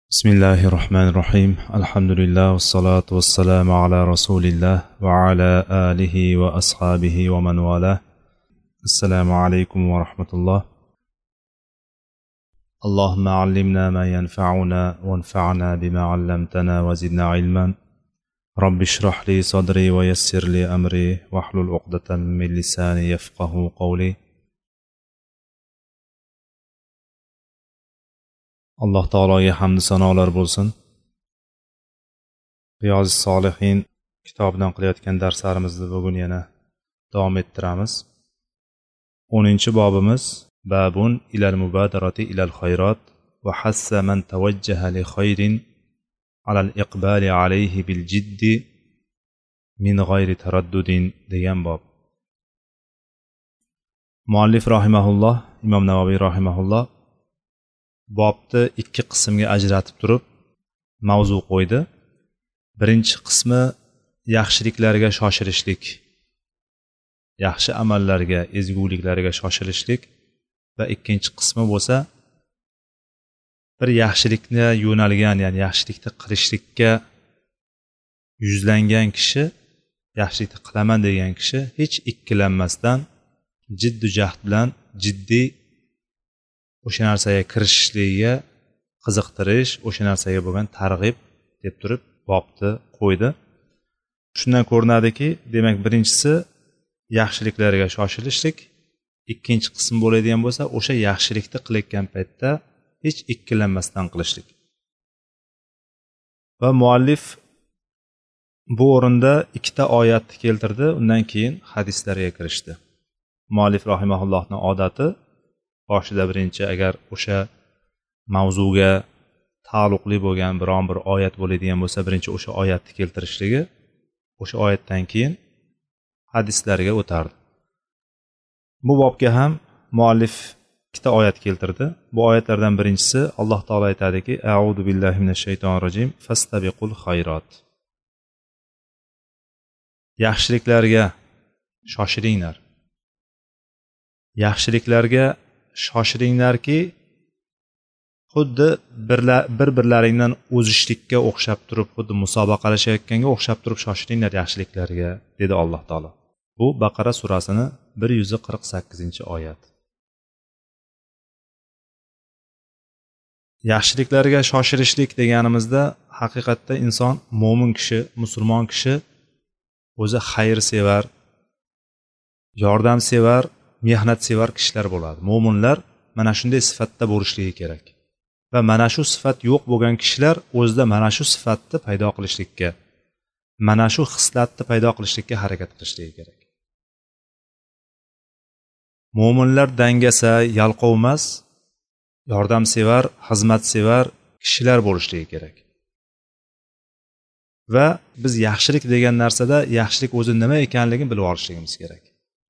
بسم الله الرحمن الرحيم الحمد لله والصلاة والسلام على رسول الله وعلى آله وأصحابه ومن والاه السلام عليكم ورحمة الله اللهم علمنا ما ينفعنا وانفعنا بما علمتنا وزدنا علما رب اشرح لي صدري ويسر لي أمري واحلل عقدة من لساني يفقه قولي alloh taologa hamdu sanolar bo'lsin. Riyozi solihin kitobidan qilayotgan darslarimizni bugun yana davom ettiramiz. 10-bobimiz babun ilal mubadarati ilal khayrat va hassa man tawajjaha li khayrin alal iqbali alayhi bil jiddi min g'ayri taraddudin degan bob. Muallif rahimahulloh, Imom Navoiy rahimahulloh bobni ikki qismga ajratib turib mavzu qo'ydi. Birinchi qismi yaxshiliklarga shoshilishlik, yaxshi amallarga, ezguliklarga shoshilishlik va ikkinchi qismi bo'lsa bir yaxshilikni yo'nalgan, ya'ni yaxshilikni qilishlikka yuzlangan kishi, yaxshilikni qilaman degan kishi hech ikkilanmasdan jiddu jahd bilan jiddiy o'sha narsaga kirishishligiga qiziqtirish, o'sha narsaga bo'lgan targ'ib deb turib bobni qo'ydi. Shundan ko'rinadiki, demak birinchisi yaxshiliklarga shoshilishlik, ikkinchi qism bo'ladigan bo'lsa o'sha yaxshilikni qilayotgan paytda hech ikkilanmasdan qilishlik. Va muallif bu o'rinda ikkita oyatni keltirdi, undan keyin hadislarga kirishdi. Muallif rahimahullohning odati boshida birinchi agar o'sha mavzuga taalluqli bo'lgan biron bir oyat bo'ladigan bo'lsa birinchi o'sha oyatni keltirishligi, o'sha oyatdan keyin hadislarga o'tardi. Bu bobga ham muallif ikkita oyat keltirdi. Bu oyatlardan birinchisi Alloh taolo aytadiki: "A'udhu billahi minash shaytonir rojim, fastabiqul khayrat." Yaxshiliklarga shoshilinglar. Yaxshiliklarga shoshilinglarki, xuddi bir-birlaringdan o'zishlikka o'xshab turib, xuddi musobaqalashayotganga o'xshab turib shoshilinglar yaxshiliklarga, dedi Alloh taolo. Bu Baqara surasini 148-oyat. Yaxshiliklarga shoshilishlik deganimizda haqiqatda inson, mo'min kishi, musulmon kishi o'zi xayr sevar, yordam sevar, mehnat sevar kishilar bo'ladi. Mo'minlar mana shunday sifatda bo'lishligi kerak. Va mana shu sifat yo'q bo'lgan kishilar o'zida mana shu sifatni paydo qilishlikka, mana shu xislatni paydo qilishlikka harakat qilishligi kerak. Mo'minlar dangasa, yalqov emas, yordam sevar, xizmat sevar kishilar bo'lishligi kerak. Va biz yaxshilik degan narsada yaxshilik o'zi nima ekanligini bilib olishligimiz kerak.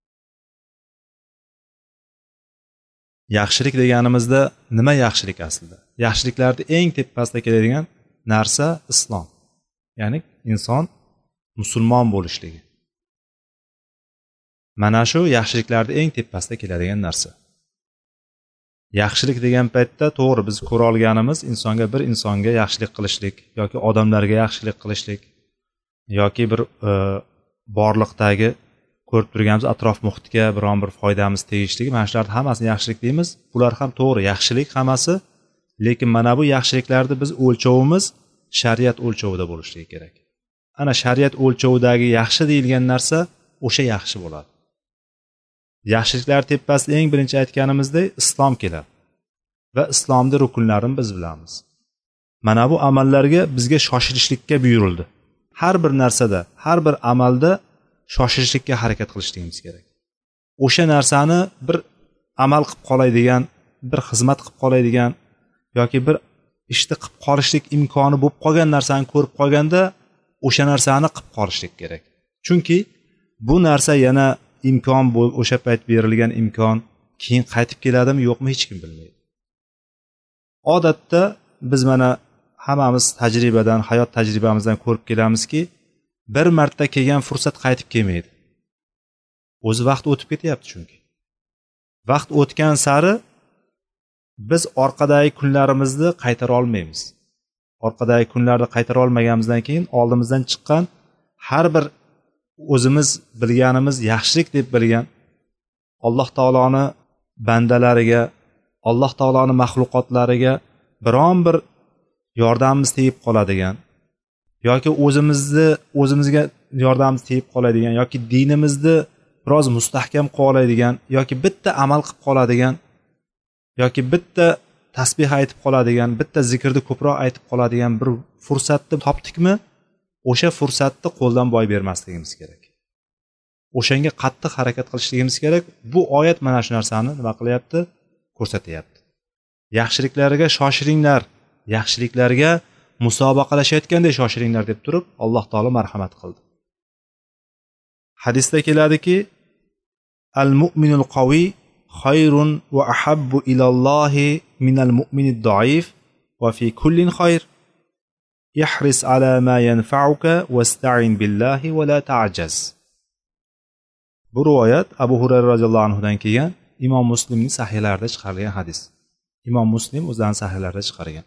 Yaxshilik deganimizda nima yaxshilik aslida? Yaxshiliklarda eng tepasida keladigan narsa islom. Ya'ni inson musulmon bo'lishligi. Mana shu yaxshiliklarda eng tepasida keladigan narsa. Yaxshilik degan paytda to'g'ri biz ko'ra olganimiz bir insonga yaxshilik qilishlik yoki odamlarga yaxshilik qilishlik yoki bir borliqdagi ko'rib turganimiz atrof muhitga biron bir foydamiz tegishligi, mana shularning hammasini yaxshilik deymiz. Bular ham to'g'ri, yaxshilik hammasi, lekin mana bu yaxshiliklarni biz o'lchovimiz shariat o'lchovida bo'lishligi kerak. Ana shariat o'lchovidagi yaxshi deyilgan narsa o'sha yaxshi bo'ladi. Yaxshiliklar tepasida eng birinchi aytganimizdek islom keladi. Va islomning rukunlarini biz bilamiz. Mana bu amallarga bizga shoshilishlikka buyurildi. Har bir narsada, har bir amalda shoshilishlikka harakat qilishligimiz kerak. O'sha narsani bir amal qilib qoladigan, bir xizmat qilib qoladigan yoki bir ishni qilib qolishlik imkoni bo'lib qolgan narsani ko'rib qolganda o'sha narsani qilib qolishlik kerak. Chunki bu narsa yana imkon o'sha payt berilgan imkon keyin qaytib keladimi yo'qmi hech kim bilmaydi. Odatda biz mana hammamiz tajribadan, hayot tajribamizdan ko'rib kelamizki, bir marta kelgan fursat qaytib kelmaydi. O'zi vaqt o'tib ketyapti chunki. Vaqt o'tgan sari biz orqadagi kunlarimizni qaytara olmaymiz. orqadagi kunlarni qaytara olmaganimizdan keyin oldimizdan chiqqan har bir o'zimiz bilganimiz yaxshilik deb bilgan alloh taoloni bandalariga, alloh taoloni maxluqotlariga biron bir yordamimiz tegib qoladigan yoki o'zimizga yordamimiz tegib qoladigan yoki dinimizni biroz mustahkam qilib oladigan yoki bitta amal qilib qoladigan yoki bitta tasbih aytib qoladigan, bitta zikrni ko'proq aytib qoladigan bir fursatni topdikmi, o'sha fursatni qo'ldan boy bermasligimiz kerak. O'shanga qattiq harakat qilishligimiz kerak. Bu oyat mana shu narsani nima qilyapti? Ko'rsatyapti. Yaxshiliklarga shoshiringlar, yaxshiliklarga musobaqalashayotgandek shoshiringlar deb turib, Alloh taolo marhamat qildi. Hadisda keladiki, al-mu'minul qaviy xayrun va ahabbu ilallohi minal mu'minid doif va fi kullin xayr. Ihris ala ma yanfa'uka wasta'in billahi va la ta'jaz. Bu rivoyat Abu Hurayra radhiyallohu anhudan kelgan, Imom Muslimning sahihlarida chiqarilgan hadis. Imom Muslim o'zining sahihlarida chiqargan.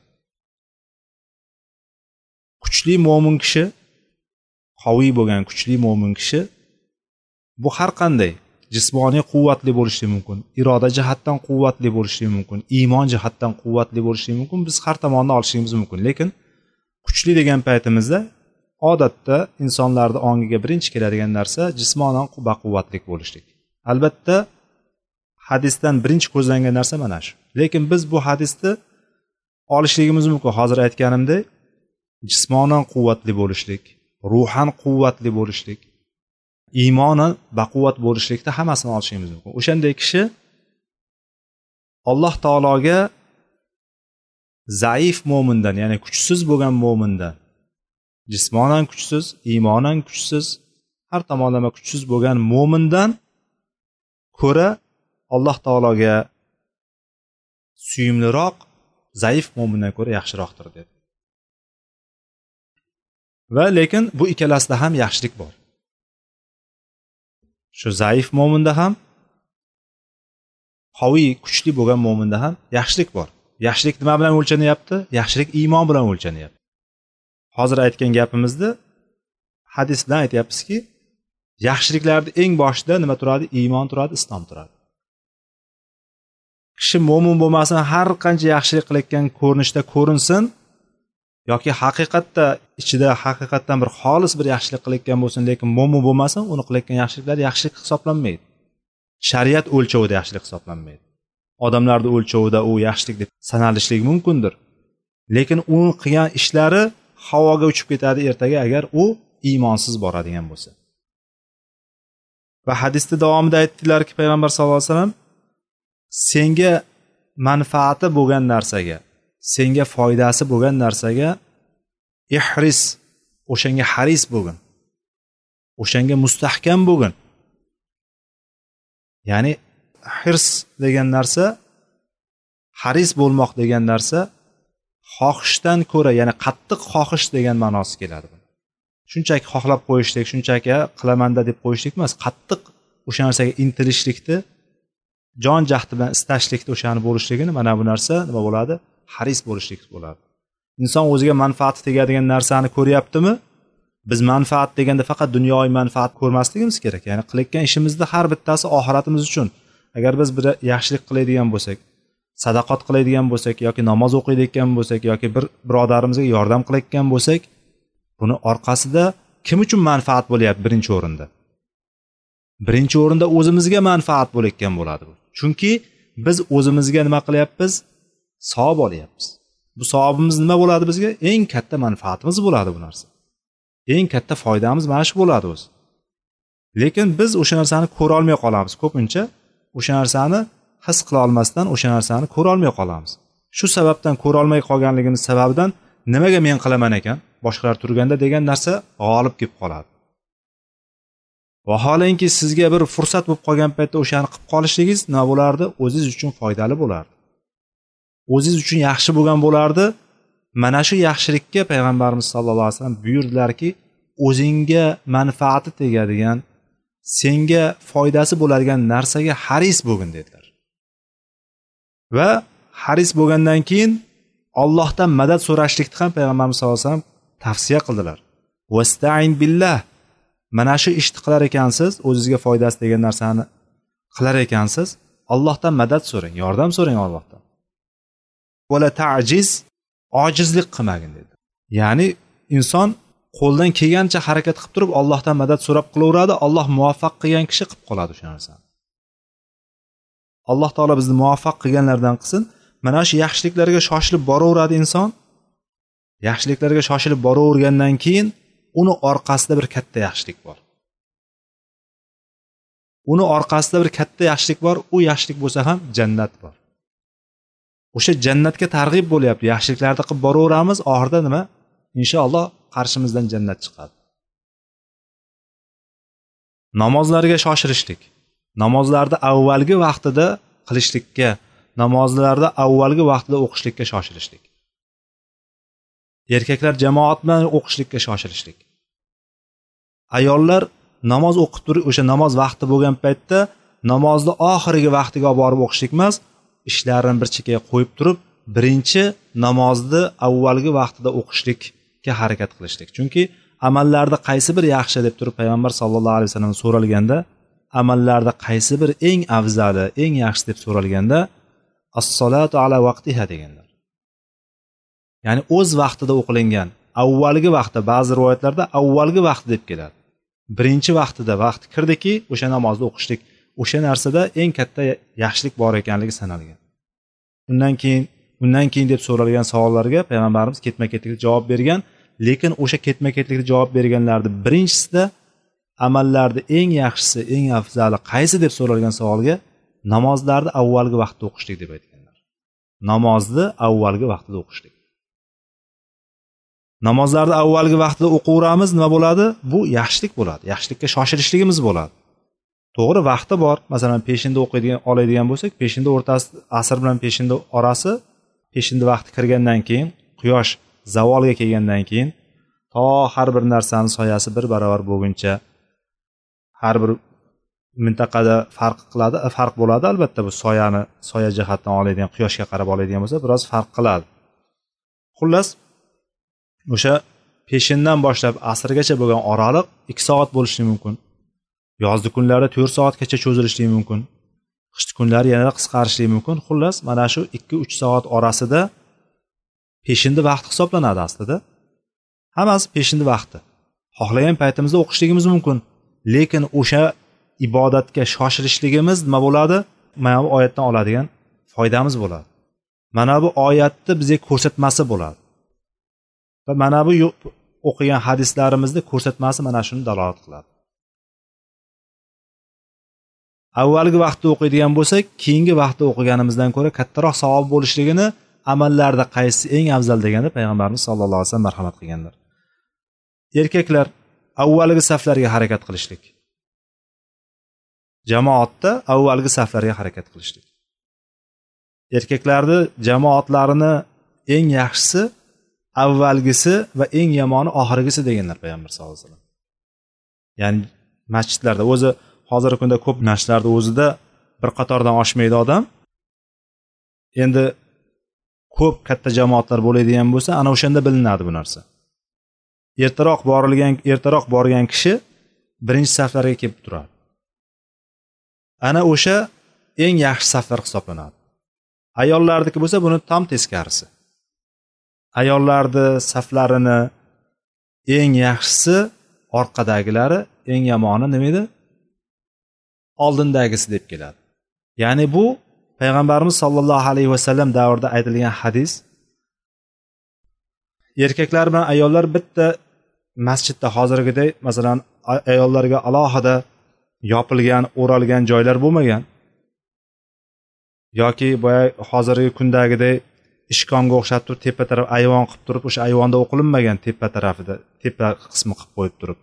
Kuchli mo'min kishi, qaviy bo'lgan kuchli mo'min kishi bu har qanday jismoniy quvvatli bo'lishi mumkin, iroda jihatdan quvvatli bo'lishi mumkin, iymon jihatdan quvvatli bo'lishi mumkin, biz har tomondan olishimiz mumkin. Lekin kuchli degan paytimizda odatda insonlarning ongiga birinchi keladigan narsa jismonan baquvvatlik bo'lishlik. Albatta hadisdan birinchi ko'zlangan narsa mana shu. Lekin biz bu hadisni olishligimiz mumkin. Hozir aytganimdek, jismonan quvvatli bo'lishlik, ruhan quvvatli bo'lishlik, iymonan baquvvat bo'lishlikda hammasini olishimiz mumkin. O'shanday kishi Alloh taologa zaif mo'mindan, ya'ni kuchsiz bo'lgan mo'mindan, jismonan kuchsiz, iymonan kuchsiz, har tomonlama kuchsiz bo'lgan mo'mindan ko'ra Alloh taologa suyumliroq zaif mo'mindan ko'ra yaxshiroqdir dedi. Va lekin bu ikkalasida ham yaxshilik bor. Shu zaif mo'minda ham, qaviy kuchli bo'lgan mo'minda ham yaxshilik bor. Yaxshilik nima bilan o'lchanyapti? Yaxshilik iymon bilan o'lchanyapti. Hozir aytgan gapimizda hadis bilan aytyapmizki, yaxshiliklarning eng boshida nima turadi? Iymon turadi, islom turadi. Kishi mo'min bo'lmasin, har qancha yaxshilik qilayotgan ko'rinishda ko'rinsin yoki haqiqatda ichida haqiqatdan bir xolis bir yaxshilik qilayotgan bo'lsin, lekin mo'min bo'lmasin, uni qilayotgan yaxshiliklar yaxshilik hisoblanmaydi. Shariat o'lchovida yaxshilik hisoblanmaydi. Odamlarning o'lchovida u yaxshilik deb sanalishligi mumkindir. Lekin uning qilgan ishlari havoga uchib ketadi ertaga agar u iymonsiz boradigan bo'lsa. Va hadisda davomida aytdilarki, payg'ambar sollallohu alayhi vasallam senga manfaati bo'lgan narsaga, senga foydasi bo'lgan narsaga ihris, o'shanga haris bo'lgin. O'shanga mustahkam bo'lgin. Ya'ni hirs degan narsa, haris bo'lmoq degan narsa xohishdan ko'ra, ya'ni qattiq xohish degan ma'nosi keladi. Shunchaki xohlab qo'yishlik, shunchaki qilamanda deb qo'yishlik emas, qattiq o'sha narsaga intilishlikni, jon jahdi bilan istashlikni, o'shani bo'lishligini, mana bu narsa nima bo'ladi? Haris bo'lishlik bo'ladi. Inson o'ziga manfaati tegadigan narsani ko'ryaptimi? Biz manfaat deganda faqat dunyoviy manfaat ko'rmasligimiz kerak. Ya'ni qilayotgan ishimizda har bittasi oxiratimiz uchun. Agar biz bir yaxshilik qiladigan bo'lsak, sadaqat qiladigan bo'lsak yoki namoz o'qiydigan bo'lsak yoki bir birodarimizga yordam qilayotgan bo'lsak, buni orqasida kim uchun manfaat bo'lyapti birinchi o'rinda? Birinchi o'rinda o'zimizga manfaat bo'layotgan bo'ladi bu. Chunki biz o'zimizga nima qilyapmiz? Savob olyapmiz. Bu savobimiz nima bo'ladi bizga? Eng katta manfaatimiz bo'ladi bu narsa. Eng katta foydamiz mana shu bo'ladi o'zi. Lekin biz o'sha narsani ko'ra olmay qolamiz. Ko'pincha o'sha narsani his qila olmasdan o'sha narsani ko'ra olmay qolamiz. Shu sababdan ko'ra olmay qolganligimiz sababidan nimaga men qilaman ekan, boshqalar turganda degan narsa g'olib kelib qoladi. Vaholanki sizga bir fursat bo'lib qolgan paytda o'shani qilib qolishligingiz nima bo'lardi? O'zingiz uchun foydali bo'lardi. O'zingiz uchun yaxshi bo'lgan bo'lardi. Mana shu yaxshilikka payg'ambarimiz sollallohu alayhi vasallam buyurdilarki, o'zingga manfaati tegadigan, senga foydasi bo'ladigan narsaga haris bo'lgin dedilar. Va haris bo'lgandan keyin Allohdan madad so'rashlikni ham payg'ambarimiz sollallohu alayhi vasallam tavsiya qildilar. Vasta'in billah. Mana shu ishni qilar ekansiz, o'zingizga foydasi degan narsani qilar ekansiz, Allohdan madad so'rang, yordam so'rang Allohdan. Wala ta'jiz, ojizlik qilmagin dedi. Ya'ni inson qo'ldan kelgancha harakat qilib turib Allohdan madad so'rab qilaveradi, Alloh muvaffaq qilgan kishi qilib qoladi o'sha narsani. Alloh taolo bizni muvaffaq qilganlardan qilsin. Mana shu yaxshiliklarga shoshilib boraveradi inson. Yaxshiliklarga shoshilib boravergandan keyin uni orqasida bir katta yaxshilik bor. Uni orqasida bir katta yaxshilik bor, u yaxshilik bo'lsa ham jannat bor. O'sha jannatga targ'ib bo'lyapti. Yaxshiliklarni qilib boraveramiz, oxirida nima? Inshaalloh qarshimizdan jannat chiqadi. Namozlarga shoshilishlik. Namozlarni avvalgi vaqtida qilishlikka, namozlarda avvalgi vaqtida o'qishlikka shoshilishlik. Erkaklar jamoat bilan o'qishlikka shoshilishlik. Ayollar namoz o'qib turib, o'sha namoz vaqti bo'lgan paytda namozni oxirgi vaqtiga olib borib o'qishlik emas, ishlarini bir chekkaga qo'yib turib, birinchi namozni avvalgi vaqtida o'qishlikka harakat qilishlik. Chunki amallarda qaysi bir yaxshi deb turib payg'ambar sollallohu alayhi vasallam so'ralganda, amallarda qaysi bir eng afzali, eng yaxshi deb so'ralganda, as-solatu ala vaqtiha deganlar. Ya'ni o'z vaqtida o'qilingan, avvalgi vaqtda, ba'zi rivoyatlarda avvalgi vaqt deb keladi. Birinchi vaqtida vaqt kirdiki, o'sha namozni o'qishlik, o'sha narsada eng katta yaxshilik bor ekanligi sanalgan. Undan keyin deb so'ralgan savollarga payg'ambarimiz ketma-ketlikda javob bergan, lekin o'sha ketma-ketlikda javob berganlarni birinchisida amallarda eng yaxshisi, eng afzali qaysi deb so'ralgan savolga namozlarni avvalgi vaqtda o'qishlik deb aytganlar. Namozni avvalgi vaqtida o'qishlik. Namozlarni avvalgi vaqtida o'qiveramiz, nima bo'ladi? Bu yaxshilik bo'ladi. Yaxshilikka shoshilishligimiz bo'ladi. To'g'ri, vaqti bor. Masalan, peshinda oladigan bo'lsak, peshinda o'rtasi, asr bilan peshinda orasi, peshinda vaqti kirgandan keyin, quyosh zavolga kelgandan keyin to har bir narsani soyasi bir barobar bo'lguncha har bir mintaqada farq bo'ladi. Albatta bu soya jihatdan oladigan, quyoshga qarab oladigan bo'lsa, biroz farq qiladi. Xullas, o'sha peshindan boshlab asrgacha bo'lgan oraliq 2 soat bo'lishi mumkin. Yozgi kunlarda 4 soatgacha cho'zilishi mumkin. Qishki kunlari yanada qisqarishi mumkin. Xullas, mana shu 2-3 soat orasida peshinda vaqt hisoblanadi aslida. Hammasi peshinda vaqti. Xohlagan paytimizda o'qishligimiz mumkin. Lekin o'sha ibodatga shoshilishligimiz nima bo'ladi? Mana bu oyatdan oladigan foydamiz bo'ladi. Mana bu oyatni bizga ko'rsatmasi bo'ladi. Va mana bu o'qigan hadislarimizni ko'rsatmasi mana shuni dalolat qiladi. Avvalgi vaqtda o'qiydigan bo'lsak, keyingi vaqtda o'qiganimizdan ko'ra kattaroq savob bo'lishligini amallarda qaysi eng afzal deganda payg'ambarimiz sollallohu alayhi vasallam marhamat qilganlar. Erkaklar avvalgi saflarga harakat qilishlik. Jamoatda avvalgi saflarga harakat qilishlik. Erkaklarni jamoatlarini eng yaxshisi avvalgisi va eng yomoni oxirgisi deganlar payg'ambar sollallohu alayhi vasallam. Ya'ni masjidlarda o'zi hozirgi kunda ko'p masjidlarda o'zida bir qatordan oshmaydi odam. Endi ko'p katta jamoatlar bo'ladigan bo'lsa, ana o'shanda bilinadi bu narsa. Ertaroq borgan kishi birinchi saflarga kelib turadi. Ana o'sha eng yaxshi saflar hisoblanadi. Ayollarniki bo'lsa, buni tam teskarisi. Ayollarni saflarini eng yaxshisi orqadagilari, eng yomoni nima edi? Oldindagisi deb keladi. Ya'ni bu payg'ambarimiz sollallohu alayhi vasallam davrida aytilgan hadis. Erkaklar bilan ayollar bitta masjidda hozirgidek, masalan, ayollarga alohida yopilgan, o'ralgan joylar bo'lmagan yoki boya hozirgi kundagidek ishkomga o'xshab turib tepa taraf ayvon qilib turib, o'sha ayvonda o'qilinmagan tepa tarafida, tepa qismi qilib qo'yib turib.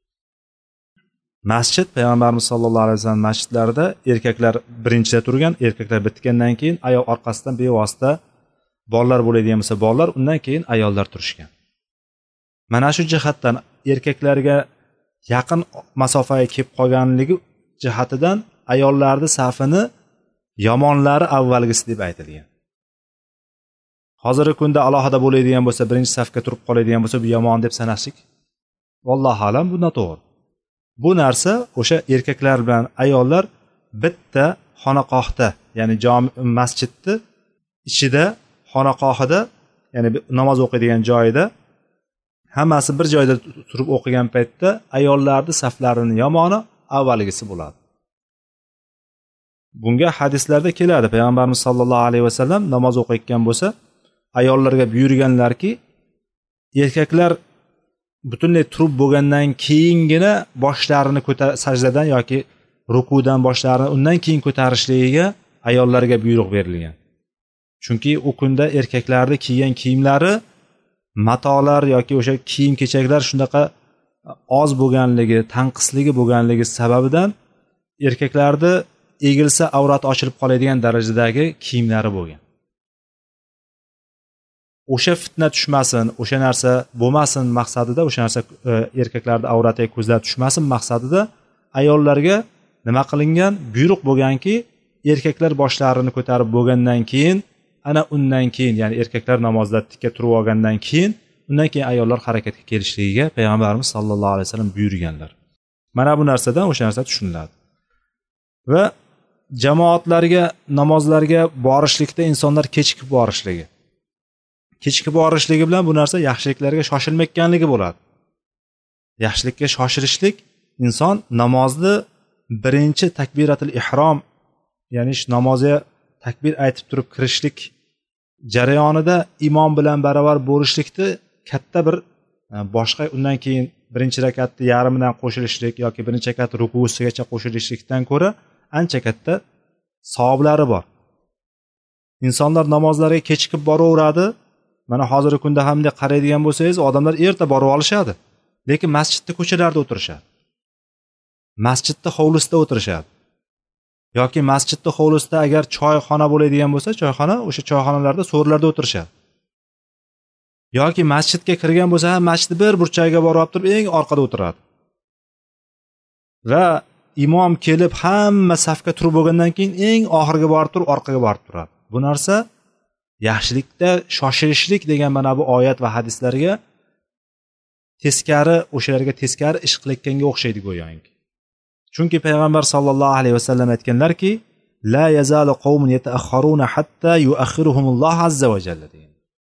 Masjid payg'ambarimiz sollallohu alayhi vasallam masjidlarida erkaklar birinchida turgan, erkaklar bitgandan keyin ayol orqasidan bevosita bolalar bo'ladigan bo'lsa, bolalar, undan keyin ayollar turishgan. Mana shu jihatdan erkaklarga yaqin masofaga kelib qolganligi jihatidan ayollarning safini yomonlari avvalgisi deb aytilgan. hozirgi kunda alohida bo'ladigan bo'lsa, birinchi safga turib qoladigan bo'lsa, bu yomon deb sanashlik vallohu alam bu noto'g'ri. Bu narsa o'sha erkaklar bilan ayollar bitta xonaqohda, ya'ni masjidni ichida, xonaqohida, ya'ni namoz o'qiydigan joyida hammasi bir joyda turib o'qigan paytda ayollarning saflarining yomoni avvalgisi bo'ladi. Bunga hadislarda keladi. Payg'ambarimiz sollallohu alayhi vasallam namoz o'qiyotgan bo'lsa, ayollarga buyurganlarki, erkaklar butunlay turib bo'lgandan keyingina boshlarini sajdadan yoki rukudan boshlarini undan keyin ko'tarishligiga ayollarga buyruq berilgan. Chunki u kunda erkaklarning kiygan kiyimlari, matolar yoki o'sha kiyim-kechaklar shunaqa oz bo'lganligi, tanqisligi bo'lganligi sababidan erkaklarda egilsa avrat ochilib qoladigan darajadagi kiyimlari bo'lgan. O'sha fitna tushmasin, o'sha narsa bo'lmasin maqsadida, o'sha narsa erkaklarning avratiga ko'zlab tushmasin maqsadida ayollarga nima qilingan? Buyruq bo'lganki, erkaklar boshlarini ko'tarib bo'lgandan keyin, ana undan keyin, ya'ni erkaklar namozda tikka turib olgandan keyin, undan keyin ayollar harakatga kelishligiga payg'ambarimiz sollallohu alayhi vasallam buyurganlar. Mana bu narsadan o'sha narsa tushuniladi. Va jamoatlarga, namozlarga borishlikda insonlar kechikib borishligi. Kechikib borishligi bilan bu narsa yaxshiliklarga shoshilmayotganligi bo'ladi. Yaxshilikka shoshilishlik inson namozni birinchi takbiratul ihrom, ya'ni namozga takbir aytib turib kirishlik jarayonida imom bilan baravar bo'lishlikni katta bir boshqa undan keyin birinchi rakatni yarmidan qo'shilishlik yoki birinchi rakat rukusigacha qo'shilishlikdan ko'ra ancha katta savoblari bor. Insonlar namozlarga kechikib boraveradi. Mana hozirgi kunda hamda qaraydigan bo'lsangiz, odamlar erta borib olishadi, lekin masjidda ko'chalarda o'tirishadi. Masjidda hovlisida o'tirishadi. Yoki masjidda hovlisida agar choyxona bo'ladigan bo'lsa, choyxona, o'sha choyxonalarda, so'rlarda o'tirishadi. Yoki masjidga kirgan bo'lsa, masjidning bir burchagiga borib turib, eng orqada o'tiradi. Va imom kelib hamma safga turib bo'lgandan keyin eng oxirga borib turib, orqaga borib turadi. Bu narsa yaxshilikda shoshilishlik degan mana bu oyat va hadislarga teskari, o'shalarga teskari ish qilayotganga o'xshaydi go'yoki. Chunki payg'ambar sollallohu alayhi vasallam aytganlarki, la yazalu qawmun yata'akhkharuna hatta yu'akhiruhumulloh azza va jalla degan.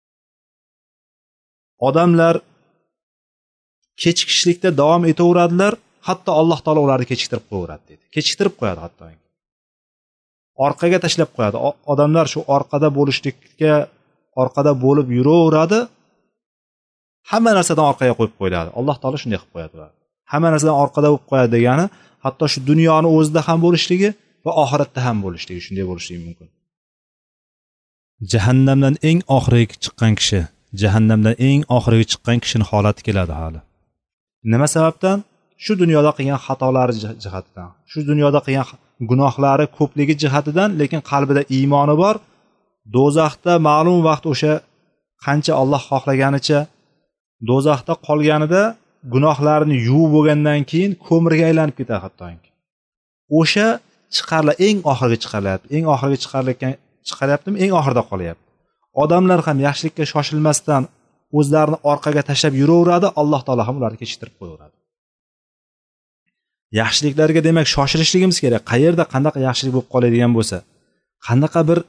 Odamlar kechikishlikda davom etaveradilar, hatto Alloh taolo ularni kechiktirib qo'yadi dedi. Kechiktirib qo'yadi hatto. Orqaga tashlab qo'yadi. Odamlar shu orqada bo'lishlikka, orqada bo'lib yuraveradi. Hamma narsadan orqaga qo'yib qo'yiladi. Alloh taolo shunday qilib qo'yadi. Hamma narsadan orqada bo'lib qo'yadi degani, hatto shu dunyoni o'zida ham bo'lishligi va oxiratda ham bo'lishligi, shunday bo'lishligi mumkin. Jahannamdan eng oxirgi chiqqan kishi, jahannamdan eng oxirgi chiqqan kishining holati keladi hali. Nima sababdan? Shu dunyoda qilgan xatolari jihatidan, shu dunyoda qilgan gunohlari ko'pligi jihatidan, lekin qalbida iymoni bor. Do'zaxda ma'lum vaqt o'sha qancha Alloh xohlaganicha do'zaxda qolganida gunohlarini yuvib bo'lgandan keyin ko'mirga aylanib ketadi hattoki. O'sha eng oxirgi chiqarilyapti. Eng oxirgi chiqaryaptimi? Eng oxirida qolyapti. Odamlar ham yaxshilikka shoshilmasdan o'zlarini orqaga tashlab yuraveradi, Alloh taolo ham ularni kechirib qo'yaveradi. Yaxshiliklarga demak shoshilishligimiz kerak. Qayerda qanaqa yaxshilik bo'lib qoladigan bo'lsa, qanaqa bir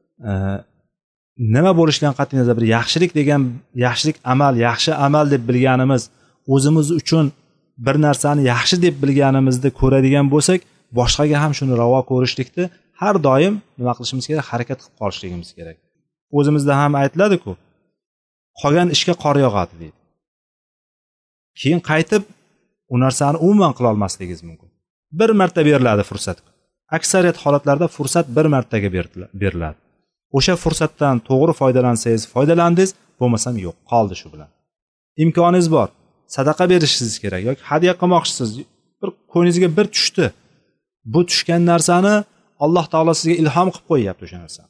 nima bo'lishidan qat'iy nazar bir yaxshilik degan, yaxshilik amal, yaxshi amal deb bilganimiz, o'zimiz uchun bir narsani yaxshi deb bilganimizni ko'radigan bo'lsak, boshqaga ham shuni ravo ko'rishlikni har doim nima qilishimiz kerak? Harakat qilib qolishligimiz kerak. O'zimizda ham aytiladi-ku, qolgan ishga qor yog'adi deydi. Keyin qaytib u narsani umuman qila olmasligingiz mumkin. Bir marta beriladi fursat. Aksariyat holatlarda fursat bir martaga beriladi. O'sha fursatdan to'g'ri foydalansangiz, foydalandingiz, bo'lmasam yo'q, qoldi shu bilan. Imkoningiz bor. Sadaqa berishingiz kerak yoki hadya qilmoqchisiz. Bir ko'ngingizga bir tushdi. Bu tushgan narsani Alloh taolo sizga ilhom qilib qo'yyapti o'sha narsani.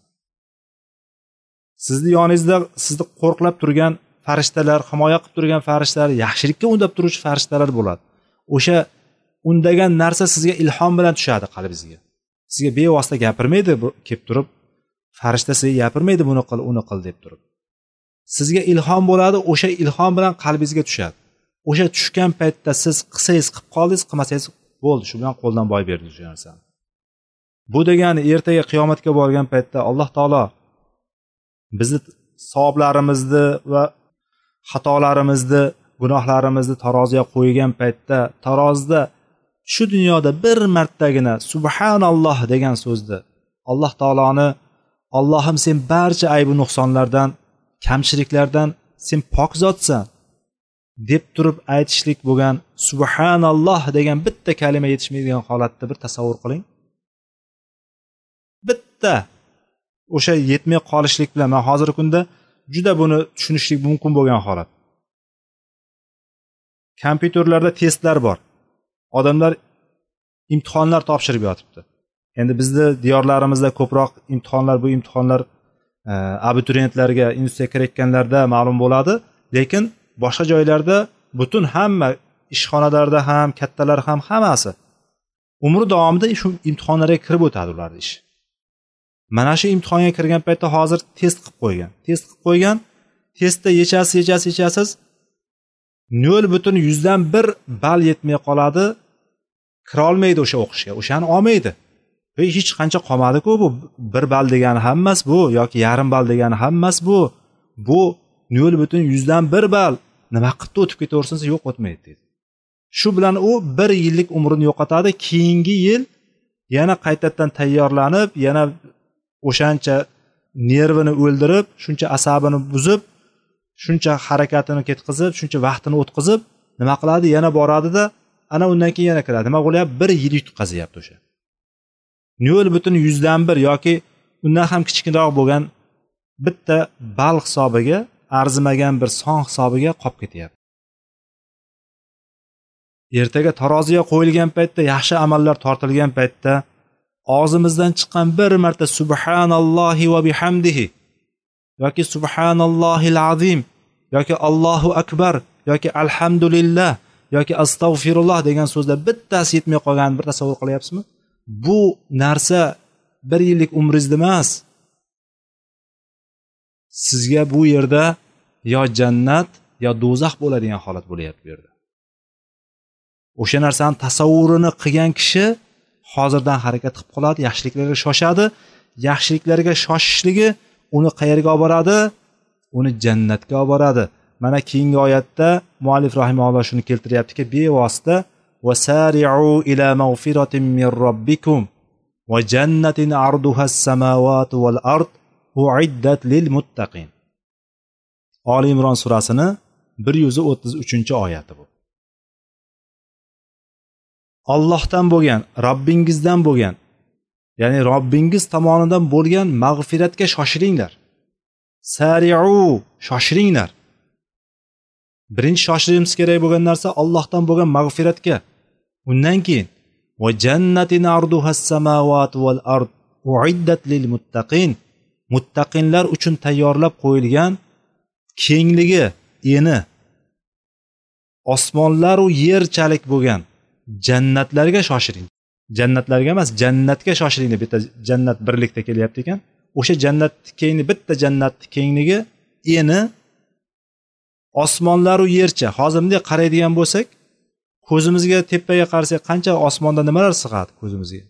Sizni yoningizda sizni qo'rqlab turgan farishtalar, himoya qilib turgan farishtalar, yaxshilikka undab turuvchi farishtalar bo'ladi. O'sha undagan narsa sizga ilhom bilan tushadi qalbingizga. Sizga bevosita gapirmaydi, kelib turib farishta sizga gapirmaydi, buni qil, uni qil deb turib. sizga ilhom bo'ladi, o'sha ilhom bilan qalbingizga tushadi. O'sha tushgan paytda siz qilsangiz qilib qoldingiz, qilmasangiz bo'ldi, shu bilan qo'ldan boy berdi o'sha narsani. Bu degani ertaga qiyomatga borgan paytda Alloh taolo bizni savoblarimizni va xatolarimizni, gunohlarimizni taroziga qo'ygan paytda tarozida shu dunyoda bir martagina subhanalloh degan so'zni Alloh taoloni Allohim sen barcha aybu nuqsonlardan, kamchiliklardan sen pok zotsan deb turib aytishlik bo'lgan subhanalloh degan bitta kalima yetishmaydigan holatda bir tasavvur qiling. Bitta o'sha yetmay qolishlik bilan men hozirgi kunda juda buni tushunishlik mumkin bo'lgan holat. Kompyuterlarda testlar bor. Odamlar imtihonlar topshirib yotibdi. Endi bizni diyorlarimizda ko'proq imtihonlar, bu imtihonlar abituriyentlarga institutga kirayotganlarda ma'lum bo'ladi, lekin boshqa joylarda butun hamma ishxonalarda ham, kattalar ham hammasi umri davomida shu imtihonlarga kirib o'tadi ularning ishi. Mana shu imtihonga kirgan paytda hozir test qilib qo'ygan. Testda yechasiz 0,1 ball yetmay qoladi. Kira olmaydi o'sha o'qishga, o'shani olmaydi. Ve hech qancha qolmadi-ku bu 1 ball degani hammas bu yoki yarim ball degani hammas bu. Bu 0,1 ball nima qilib o'tib ketaversangiz yo'q o'tmaydi dedi. Shu bilan u 1 yillik umrini yo'qotadi. Keyingi yil yana qaytadan tayyorlanib, yana o'shancha nervini o'ldirib, shuncha asabini buzib, shuncha harakatini ketkizib, shuncha vaqtini o'tkazib, nima qiladi? Yana boradi-da, ana undan keyin yana kiradi. Nima bo'lyapti? 1 yil yutqazyapti o'sha. 0,1 yoki undan ham kichikroq bo'lgan bitta ball hisobiga, arzimagan bir son hisobiga qolib ketyapti. Ertaga taroziga qo'yilgan paytda, yaxshi amallar tortilgan paytda og'zimizdan chiqqan bir marta subhanallohi va bihamdihi yoki subhanallohil azim yoki Allohu akbar yoki alhamdulillah yoki astag'firulloh degan so'zlar bittasi yetmay qolganini bir tasavvur qilyapsizmi? Bu narsa 1 yillik umringiz emas. Sizga bu yerda yo jannat yo do'zax bo'ladigan holat bo'lyapti bu yerda. O'sha narsani tasavvurini qilgan kishi hozirdan harakat qilib qoladi, yaxshiliklarga shoshadi. Yaxshiliklarga shoshishligi uni qayerga olib boradi? Uni jannatga olib boradi. Mana keyingi oyatda muallif rahimahulloh shuni keltiryaptiki, bevosita wasari'u ila mag'firatin min robbikum va jannatin arduha as-samawati wal ard uiddat lil muttaqin. Ali Imron surasini 133-oyati bu. Allohdan bo'lgan, Robbingizdan bo'lgan, ya'ni Robbingiz tomonidan bo'lgan mag'firatga shoshilinglar. Sari'u, shoshiringlar. Birinchi shoshilishimiz kerak bo'lgan narsa Allohdan bo'lgan mag'firatga. Undan keyin va jannatin arduhas samawati wal ard uiddat lil muttaqin. Muttaqinlar uchun tayyorlab qo'yilgan kengligi, eni osmonlar va yerchalik bo'lgan jannatlarga shoshiling. Jannatlarga emas, jannatga shoshiling deb bitta jannat birlikda kelyapti ekan. O'sha jannat kengligi, bitta jannat kengligi, eni osmonlar va yercha. Hozir bunday qaraydigan bo'lsak, ko'zimizga tepaga qarasak qancha osmonda nimalar sig'adi ko'zimizga.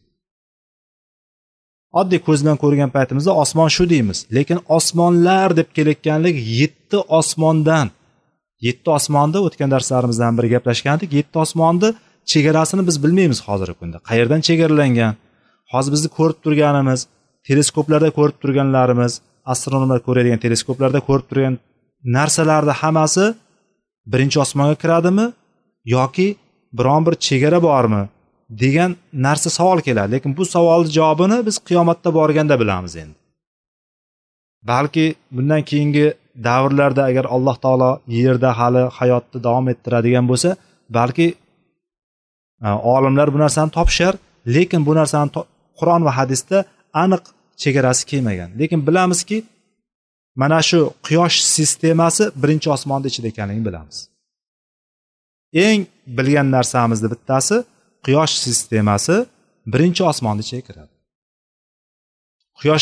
Oddiy ko'z bilan ko'rgan paytimizda osmon shu deymiz, lekin osmonlar deb kelayotganlik 7 osmondan. 7 osmonni o'tgan darslarimizdan biri gaplashgandik. 7 osmonni chegarasini biz bilmaymiz hozirgi kunda. Qayerdan chegaralangan? Hozir bizni ko'rib turganimiz, teleskoplarda ko'rib turganlarimiz, astronomlar ko'radigan teleskoplarda ko'rib turgan narsalarning hammasi birinchi osmonga kiradimi yoki biron bir chegara bormi degan narsa savol keladi. Lekin bu savolning javobini biz qiyomatda borganda bilamiz endi. Balki bundan keyingi davrlarda agar Alloh taolo yerda hali hayotni davom ettiradigan bo'lsa, balki olimlar bu narsani topishar, lekin bu narsani Qur'on va hadisda aniq chegarasi kelmagan. Lekin bilamizki, mana shu quyosh sistemasi birinchi osmonda ichida ekanligini bilamiz. Eng bilgan narsamizning bittasi quyosh sistemasi birinchi osmonda ichiga kiradi. Quyoshga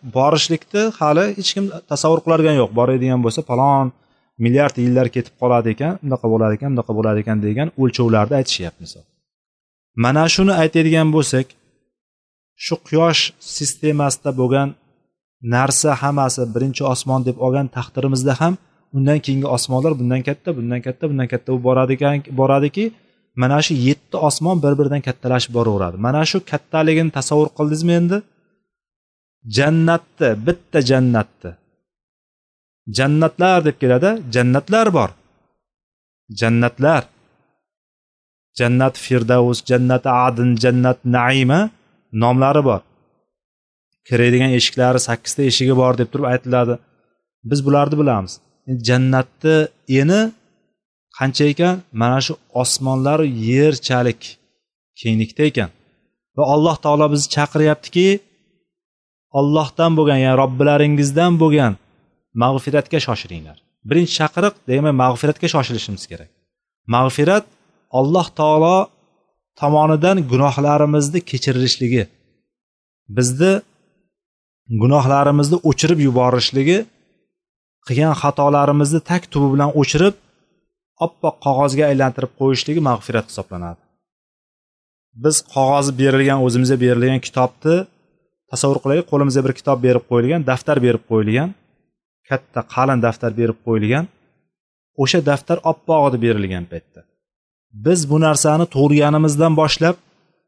borishlikni hali hech kim tasavvur qiladigan yo'q. Boradigan bo'lsa falon milliard yillar ketib qoladi ekan, bunaqa bo'lar ekan, bunaqa bo'lar ekan degan o'lchovlarni aytishyapmiz. Mana shuni aytadigan bo'lsak, shu quyosh sistemasida bo'lgan narsa hammasi birinchi osmon deb olgan taqdirimizda ham undan keyingi osmonlar bundan katta, bundan katta, bundan katta boradiki, mana shu 7 osmon bir-biridan kattalashib boraveradi. Mana shu kattaligini tasavvur qildingizmi endi? Jannatni, bitta jannatni. Jannatlar deb keladi, jannatlar bor. Jannatlar. Jannat Firdavs, Jannat Adn, Jannat Naima nomlari bor. Kiradigan eshiklari 8 ta eshigi bor deb turib aytiladi. Biz bularni bilamiz. Jannatni eni qancha ekan? Mana shu osmonlar yerchalik kenglikda ekan. Va Alloh taolo bizni chaqiryaptiki, Allohdan bo'lgan, ya'ni Robbilaringizdan bo'lgan mag'firatga shoshiringlar. Birinchi chaqiriq, demak, mag'firatga shoshilishimiz kerak. Mag'firat Alloh taolo tomonidan gunohlarimizni kechirilishligi, bizni gunohlarimizni o'chirib yuborishligi, qilgan xatolarimizni tak tubi bilan o'chirib, oppoq qog'ozga aylantirib qo'yishligi mag'firat hisoblanadi. Biz qog'ozi berilgan, o'zimizga berilgan kitobni tasavvur qilaylik, qo'limizga bir kitob berib qo'yilgan, daftar berib qo'yilgan, katta qalin daftar berib qo'yilgan, o'sha daftar oppoq deb berilgan paytda biz bu narsani tug'ilganimizdan boshlab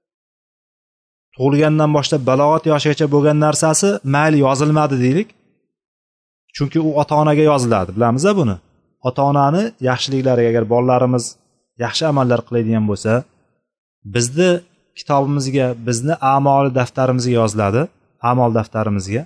balog'at yoshigacha bo'lgan narsasi mayli yozilmadi deylik. Chunki u ota-onaga yoziladi, bilamiz-a buni. Ota-onani yaxshiliklariga agar bolalarimiz yaxshi amallar qiladigan bo'lsa, bizni kitobimizga, bizni a'mol daftarimizga yoziladi, a'mol daftarimizga.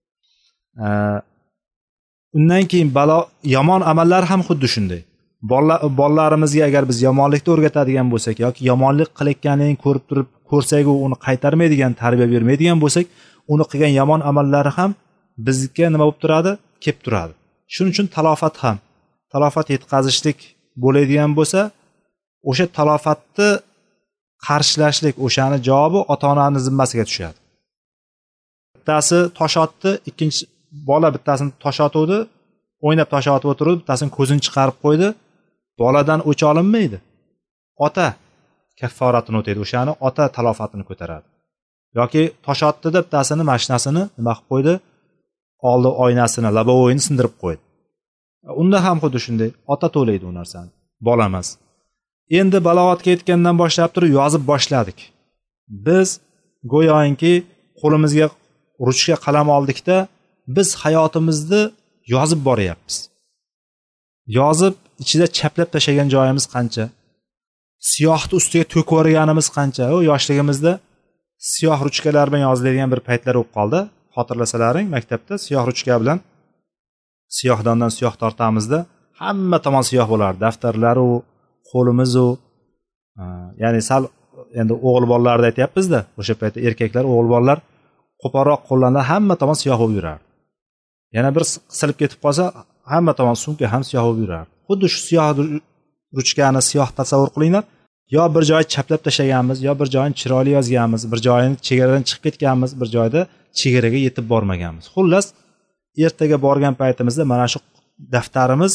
Undan keyin yomon amallar ham xuddi shunday. Bolalarimizga agar biz yomonlikni o'rgatadigan bo'lsak yoki yomonlik qilayotganligini ko'rib turib ko'rsak u uni qaytarmaydigan, tarbiya bermaydigan bo'lsak, uni qilgan yomon amallari ham bizga nima bo'lib turadi? Kelib turadi. Shuning uchun talofat yetkazishlik bo'ladigan bo'lsa, o'sha talofatni qarshilashlik, o'shani javobi ota-onaning zimmasiga tushadi. Bittasi tosh otdi, ikkinchi bola bittasini tosh otuvdi, o'ynab tosh otib o'tirdi, bittasini ko'zini chiqarib qo'ydi. Boladan o'ch olinmaydi. Ota kafforatini o'taydi, o'shani ota talofatini ko'taradi. Yoki tosh otdi-da bittasini mashinasini nima qilib qo'ydi? Oldi oynasini, labovoyini sindirib qo'ydi. Unda ham xuddi shunday, ota to'laydi u narsani, bola emas. Endi balog'atga yetgandan boshlab turib yozib boshladik. Biz go'yoki qo'limizga ruchka qalam oldikda, biz hayotimizni yozib boryapmiz. Yozib ichida chaplab tashlagan joyimiz qancha? Siyohni ustiga to'kib yuborganimiz qancha? O yoshligimizda siyoh ruchkalar bilan yoziladigan bir paytlar bo'lib qoldi. Xotirlasalaring, maktabda siyoh ruchka bilan siyohdondan siyoh tortamizda hamma tomon siyoh bo'lardi. Daftarlar u, qo'limiz u. Ya'ni sal endi o'g'il bolalarni aytyapmiz-da, o'sha paytda erkaklar, o'g'il bolalar qo'polroq qo'llanlar hamma tomon siyoh bo'lib yurardi. Yana bir silib ketib qolsa, hamma tomon sumka ham siyoh bo'lib yurardi. Xuddi shu siyoh ruchkani siyoh tasavvur qilinglar. Yo bir joyni chaplab tashlaganmiz, yo bir joyni chiroyli yozganmiz, bir joyini chegaradan chiqib ketganmiz, bir joyda chegaraga yetib bormaganmiz. Xullas, ertaga borgan paytimizda mana shu daftarimiz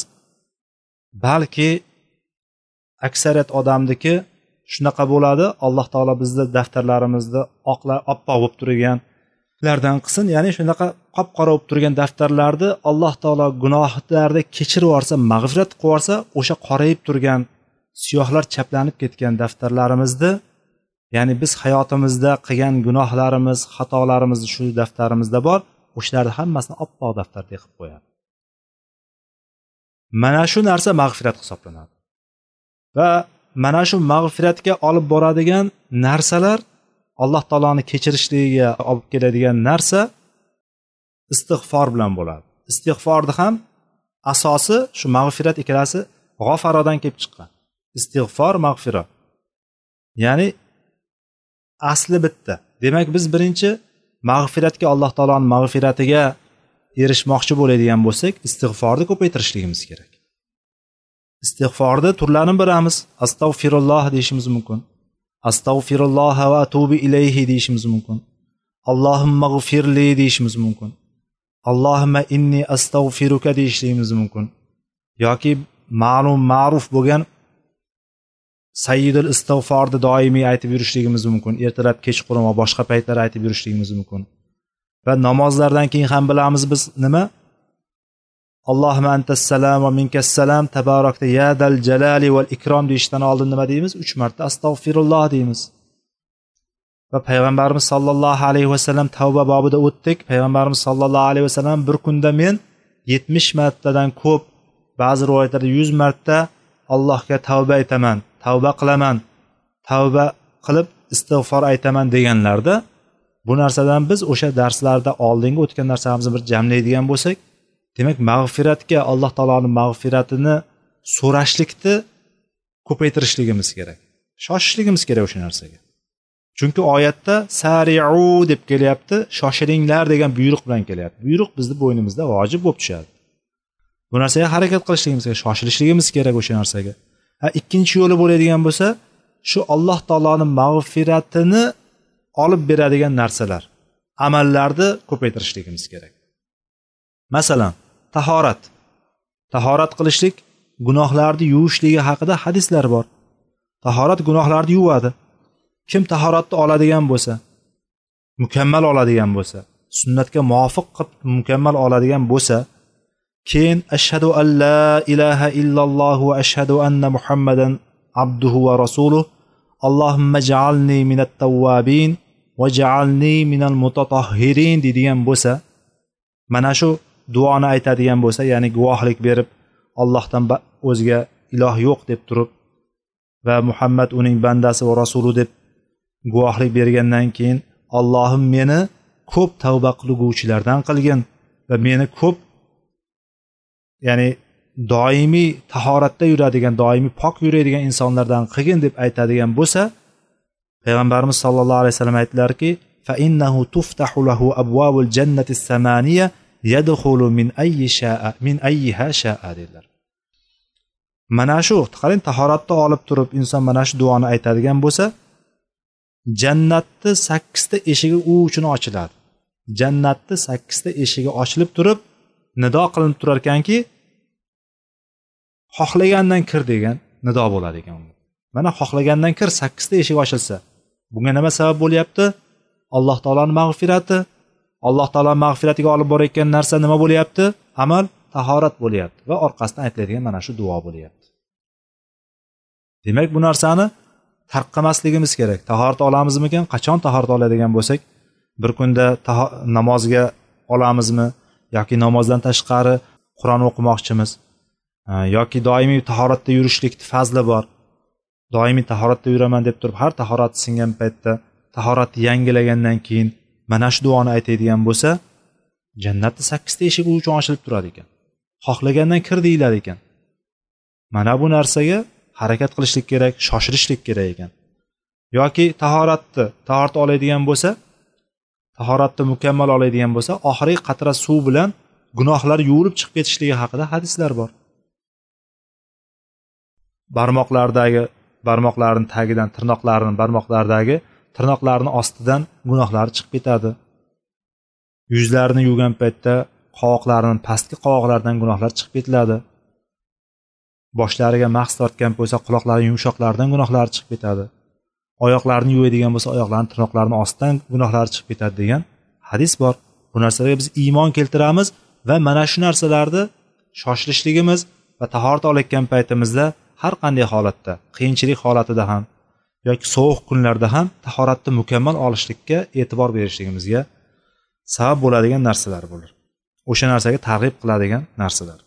balki aksariyat odamniki shunaqa bo'ladi. Alloh taolo bizni daftarlarimizni oppoq bo'lib turganlardan qilsin. Ya'ni shunaqa qop-qora bo'lib turgan daftarlarni Alloh taolo gunohlarni kechirib yuborsa, mag'firat qilib yuborsa, o'sha qorayib turgan siyohlar chaplanib ketgan daftarlarimizni, ya'ni biz hayotimizda qilgan gunohlarimiz, xatolarimiz shu daftarimizda bor, o'shalarni hammasini oppoq daftarga qilib qo'yadi. Mana shu narsa mag'firat hisoblanadi. Va mana shu mag'firatga olib boradigan narsalar, Alloh taoloni kechirishligiga olib keladigan narsa istig'for bilan bo'ladi. Istig'forni ham asosi shu mag'firat ikkalasi g'ofarodan kelib chiqqan. Istig'for, mag'firat. Ya'ni asli bitta. Demak, biz birinchi mag'firatga, Alloh taoloning mag'firatiga erishmoqchi bo'ladigan bo'lsak, istig'forni ko'paytirishligimiz kerak. Istig'forni turlarini bilamiz. Astag'firulloh deyishimiz mumkin. Astag'firulloh va atubu ilayhi deyishimiz mumkin. Allohumma g'firli deyishimiz mumkin. Allohumma inni astag'firuka deyishligimiz mumkin. Yoki ma'ruf bo'lgan sayyidul istig'forni doimiy aytib yurishligimiz mumkin. Ertalab, kechqurun va boshqa paytlar aytib yurishligimiz mumkin. Va namozlardan keyin ham bilamiz biz nima? Allohumma antas salam va minkas salam tabarakta ya dal jalali val ikrom deyishdan oldin nima deymiz? 3 marta astag'firulloh deymiz. Va payg'ambarimiz sollallohu alayhi vasallam tavba bobida o'tdik. Payg'ambarimiz sollallohu alayhi vasallam bir kunda men 70 martadan ko'p, ba'zi rivoyatlarda 100 marta Allohga tavba aytaman, tavba qilaman, tavba qilib istig'for aytaman deganlarda, bu narsadan biz o'sha darslarda oldingi o'tgan narsalarimizni bir jamlaydigan bo'lsak, demak mag'firatga, Alloh taoloning mag'firatini so'rashlikni ko'paytirishligimiz kerak. Shoshishligimiz kerak o'sha narsaga. Chunki oyatda sari'u deb kelyapti, shoshilinglar degan buyruq bilan kelyapti. Buyruq bizning bo'ynimizda vojib bo'lib tushadi. Bu narsaga harakat qilishligimiz kerak, shoshilishligimiz kerak o'sha narsaga. Ikkinchi yo'li bo'ladigan bo'lsa, shu Alloh taoloning mag'firatini olib beradigan narsalar, amallarni ko'paytirishligimiz kerak. Masalan, tahorat. Tahorat qilishlik gunohlarni yuvishligi haqida hadislar bor. Tahorat gunohlarni yuvadi. Kim tahoratni oladigan bo'lsa, mukammal oladigan bo'lsa, sunnatga muvofiq qilib mukammal oladigan bo'lsa, keyin ashhadu an la ilaha illalloh va ashhadu anna muhammadan abduhu va rasuluh Allohumma ja'alni minat tawwabin va ja'alni minal mutatahhirin deydigan bo'lsa, mana shu duoni aytadigan bo'lsa, ya'ni guvohlik berib Allohdan o'zga iloh yo'q deb turib va Muhammad uning bandasi va rasuli deb guvohlik bergandan keyin Allohim meni ko'p tavba qiluvchilardan qilgin va meni ko'p, ya'ni doimiy tahoratda yuradigan, doimiy pok yuradigan insonlardan qilgin deb aytadigan bo'lsa, payg'ambarimiz sollallohu alayhi vasallam aytdilarki, fa innahu tuftahu lahu abwabul jannati samaniya yadkhulu min ayyiha sha'a dedilar. Mana shu, qarang, tahoratni olib turib inson mana shu duoni aytadigan bo'lsa, jannatning 8 ta eshigi u uchun ochiladi. Jannatning 8 ta eshigi ochilib turib, nido qilinib turar ekanki, xohlagandan kir degan nido bo'lar ekan. Mana xohlagandan kir 8 ta eshik ochilsa, bunga nima sabab bo'lyapti? Alloh taolaning mag'firati. Alloh taolaning mag'firatiga olib borayotgan narsa nima bo'lyapti? Amal, tahorat bo'lyapti va orqasidan aytiladigan mana shu duo bo'lyapti. Demak, bu narsani tarqamasligimiz kerak. Tahorat olamizmikan? Qachon tahorat oladigan bo'lsak, bir kunda namozga olamizmi yoki namozdan tashqari Qur'on o'qimoqchimiz yoki doimiy tahoratda yurishlikning fazli bor. Doimiy tahoratda yuraman deb turib, har tahorat singan paytda tahoratni yangilagandan keyin mana shu duoni aytadigan bo'lsa, jannatning 8 ta eshigi uchun ochilib turadi ekan. Xohlagandan kir deyiladi ekan. Mana bu narsaga harakat qilishlik kerak, shoshilishlik kerak ekan. Yoki tahorat oladigan bo'lsa, tahoratni mukammal oladigan bo'lsa, oxirgi qatra suv bilan gunohlar yuvilib chiqib ketishligi haqida hadislar bor. Barmoqlarning tagidan, tirnoqlarning ostidan gunohlar chiqib ketadi. Yuzlarini yuvgan paytda qovoqlarining pastki qovoqlaridan gunohlar chiqib ketiladi. Boshlariga mahs tortgan bo'lsa, quloqlarining yumshoqlaridan gunohlar chiqib ketadi. Oyoqlarini yuvadigan bo'lsa, oyoqlarining tirnoqlarining ostidan gunohlar chiqib ketadi degan hadis bor. Bu narsalarga biz iymon keltiramiz va mana shu narsalarni shoshilishligimiz va tahorat olayotgan paytimizda har qanday holatda, qiyinchilik holatida ham yoki sovuq kunlarda ham tahoratni mukammal olishlikka e'tibor berishligimizga sabab bo'ladigan narsalar bo'lar. O'sha narsaga targ'ib qiladigan narsalar.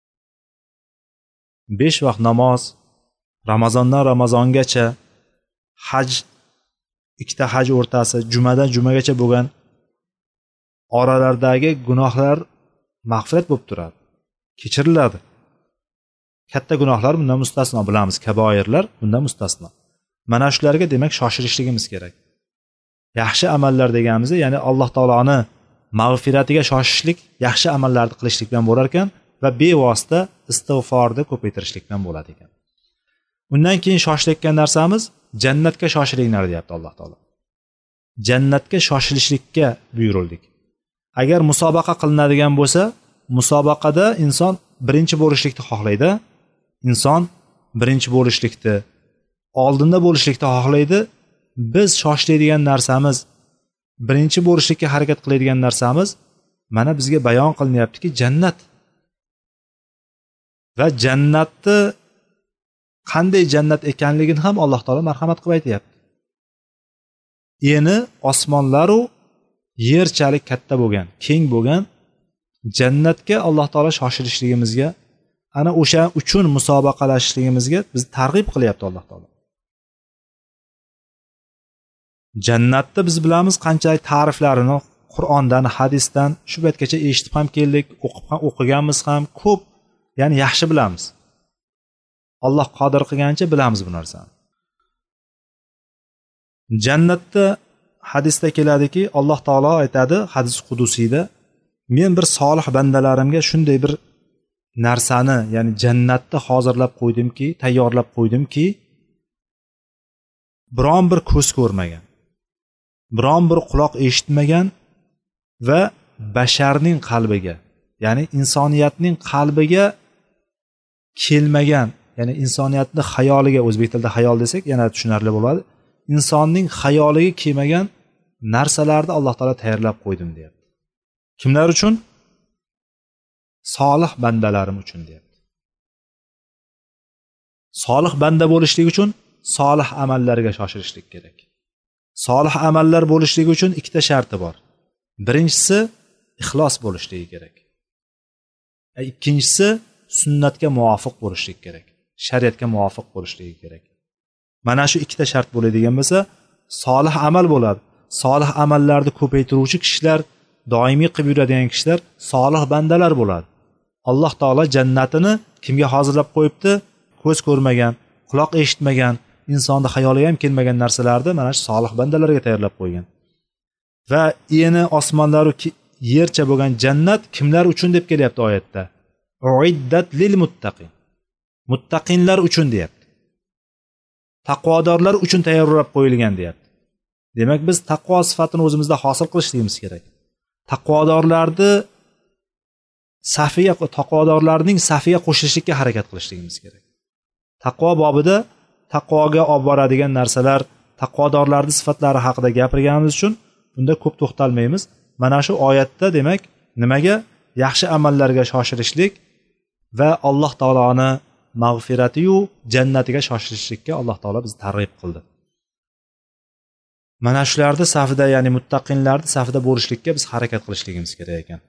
5 vaqt namoz, Ramazondan Ramazongacha, haj, 2 ta haj o'rtasi, jumadan jumagacha bo'lgan oralardagi gunohlar mag'firat bo'lib turadi, kechiriladi. Katta gunohlar bundan mustasno, bilamiz, kaboirlar bundan mustasno. Mana shularga demak shoshilishligimiz kerak. Yaxshi amallar deganimizda, ya'ni Alloh taoloni mag'firatiga shoshishlik, yaxshi amallarni qilishlik bilan bo'lar ekan va bevosita istig'forni ko'paytirishlik bilan bo'ladi ekan. Undan keyin shoshilayotgan narsamiz jannatga shoshilinglar deyapti Alloh taolo. Jannatga shoshilishlikka buyurildik. agar musobaqa qilinadigan bo'lsa, musobaqada inson birinchi bo'lishlikni xohlaydi. Inson birinchi bo'lishlikni, oldinda bo'lishlikni xohlaydi. Biz shoshlaydigan narsamiz, birinchi bo'lishlikka harakat qiladigan narsamiz mana bizga bayon qilinyaptiki, jannat. Va jannatni qanday jannat ekanligini ham Alloh taolo marhamat qilib aytayapti. Eni osmonlar u yerchalik katta bo'lgan, keng bo'lgan jannatga Alloh taolo shoshilishligimizga, ana o'sha uchun musobaqalashishligimizga bizni targ'ib qilyapti Alloh taolo. Jannatni biz bilamiz qanchalik ta'riflarini Qur'ondan, hadisdan shu paytgacha eshitib ham keldik, o'qiganmiz ham ko'p, ya'ni yaxshi bilamiz. Alloh qodir qilgancha bilamiz bu narsani. Jannatda hadisda keladiki, Alloh taolo aytadi hadis qudusiyda, men bir solih bandalarimga shunday bir narsani, ya'ni jannatni hozirlab qo'ydimki, tayyorlab qo'ydimki, biron bir ko'z ko'rmagan, biron bir quloq eshitmagan va basharning qalbiga, ya'ni insoniyatning qalbiga kelmagan, ya'ni insoniyatning xayoliga, o'zbek tilida xayol desak yana tushunarli bo'ladi, insonning xayoliga kelmagan narsalarni Alloh taolo tayyorlab qo'ydim deyapti. Kimlar uchun? Solih bandalarim uchun deyapti. Solih banda bo'lishlik uchun solih amallarga shoshilishlik kerak. Solih amallar bo'lishligi uchun ikkita sharti bor. Birinchisi ixlos bo'lishligi kerak. Ikkinchisi sunnatga muvofiq bo'lishligi kerak. Shariatga muvofiq bo'lishligi kerak. Mana shu ikkita shart bo'ladigan bo'lsa, solih amal bo'ladi. Solih amallarni ko'paytiruvchi kishilar, doimiy qilib yuradigan kishilar solih bandalar bo'ladi. Alloh taolo jannatini kimga hozirlab qo'yibdi? Ko'z ko'rmagan, quloq eshitmagan, insonning xayoliga ham kelmagan narsalarni mana shu solih bandalarga tayyorlab qo'ygan. Va eni osmonlar va yercha bo'lgan jannat kimlar uchun deb kelyapti oyatda? Uiddat lil muttaqin. Muttaqinlar uchun deyapti. Taqvodorlar uchun tayyorlab qo'yilgan deyapti. Demak, biz taqvo sifatini o'zimizda hosil qilishligimiz kerak. Taqvodorlarning safiga qo'shilishga harakat qilishligimiz kerak. Taqvo bobida taqvoga olib boradigan narsalar, taqvodorlarning sifatlari haqida gapirganimiz uchun bunda ko'p to'xtalmaymiz. Mana shu oyatda demak, nimaga? Yaxshi amallarga shoshilishlik va Alloh taoloni mag'firati yu jannatiga shoshilishlikka Alloh taolo bizni targ'ib qildi. Mana shularni safida, ya'ni muttaqinlarning safida bo'lishlikka biz harakat qilishligimiz kerak ekan.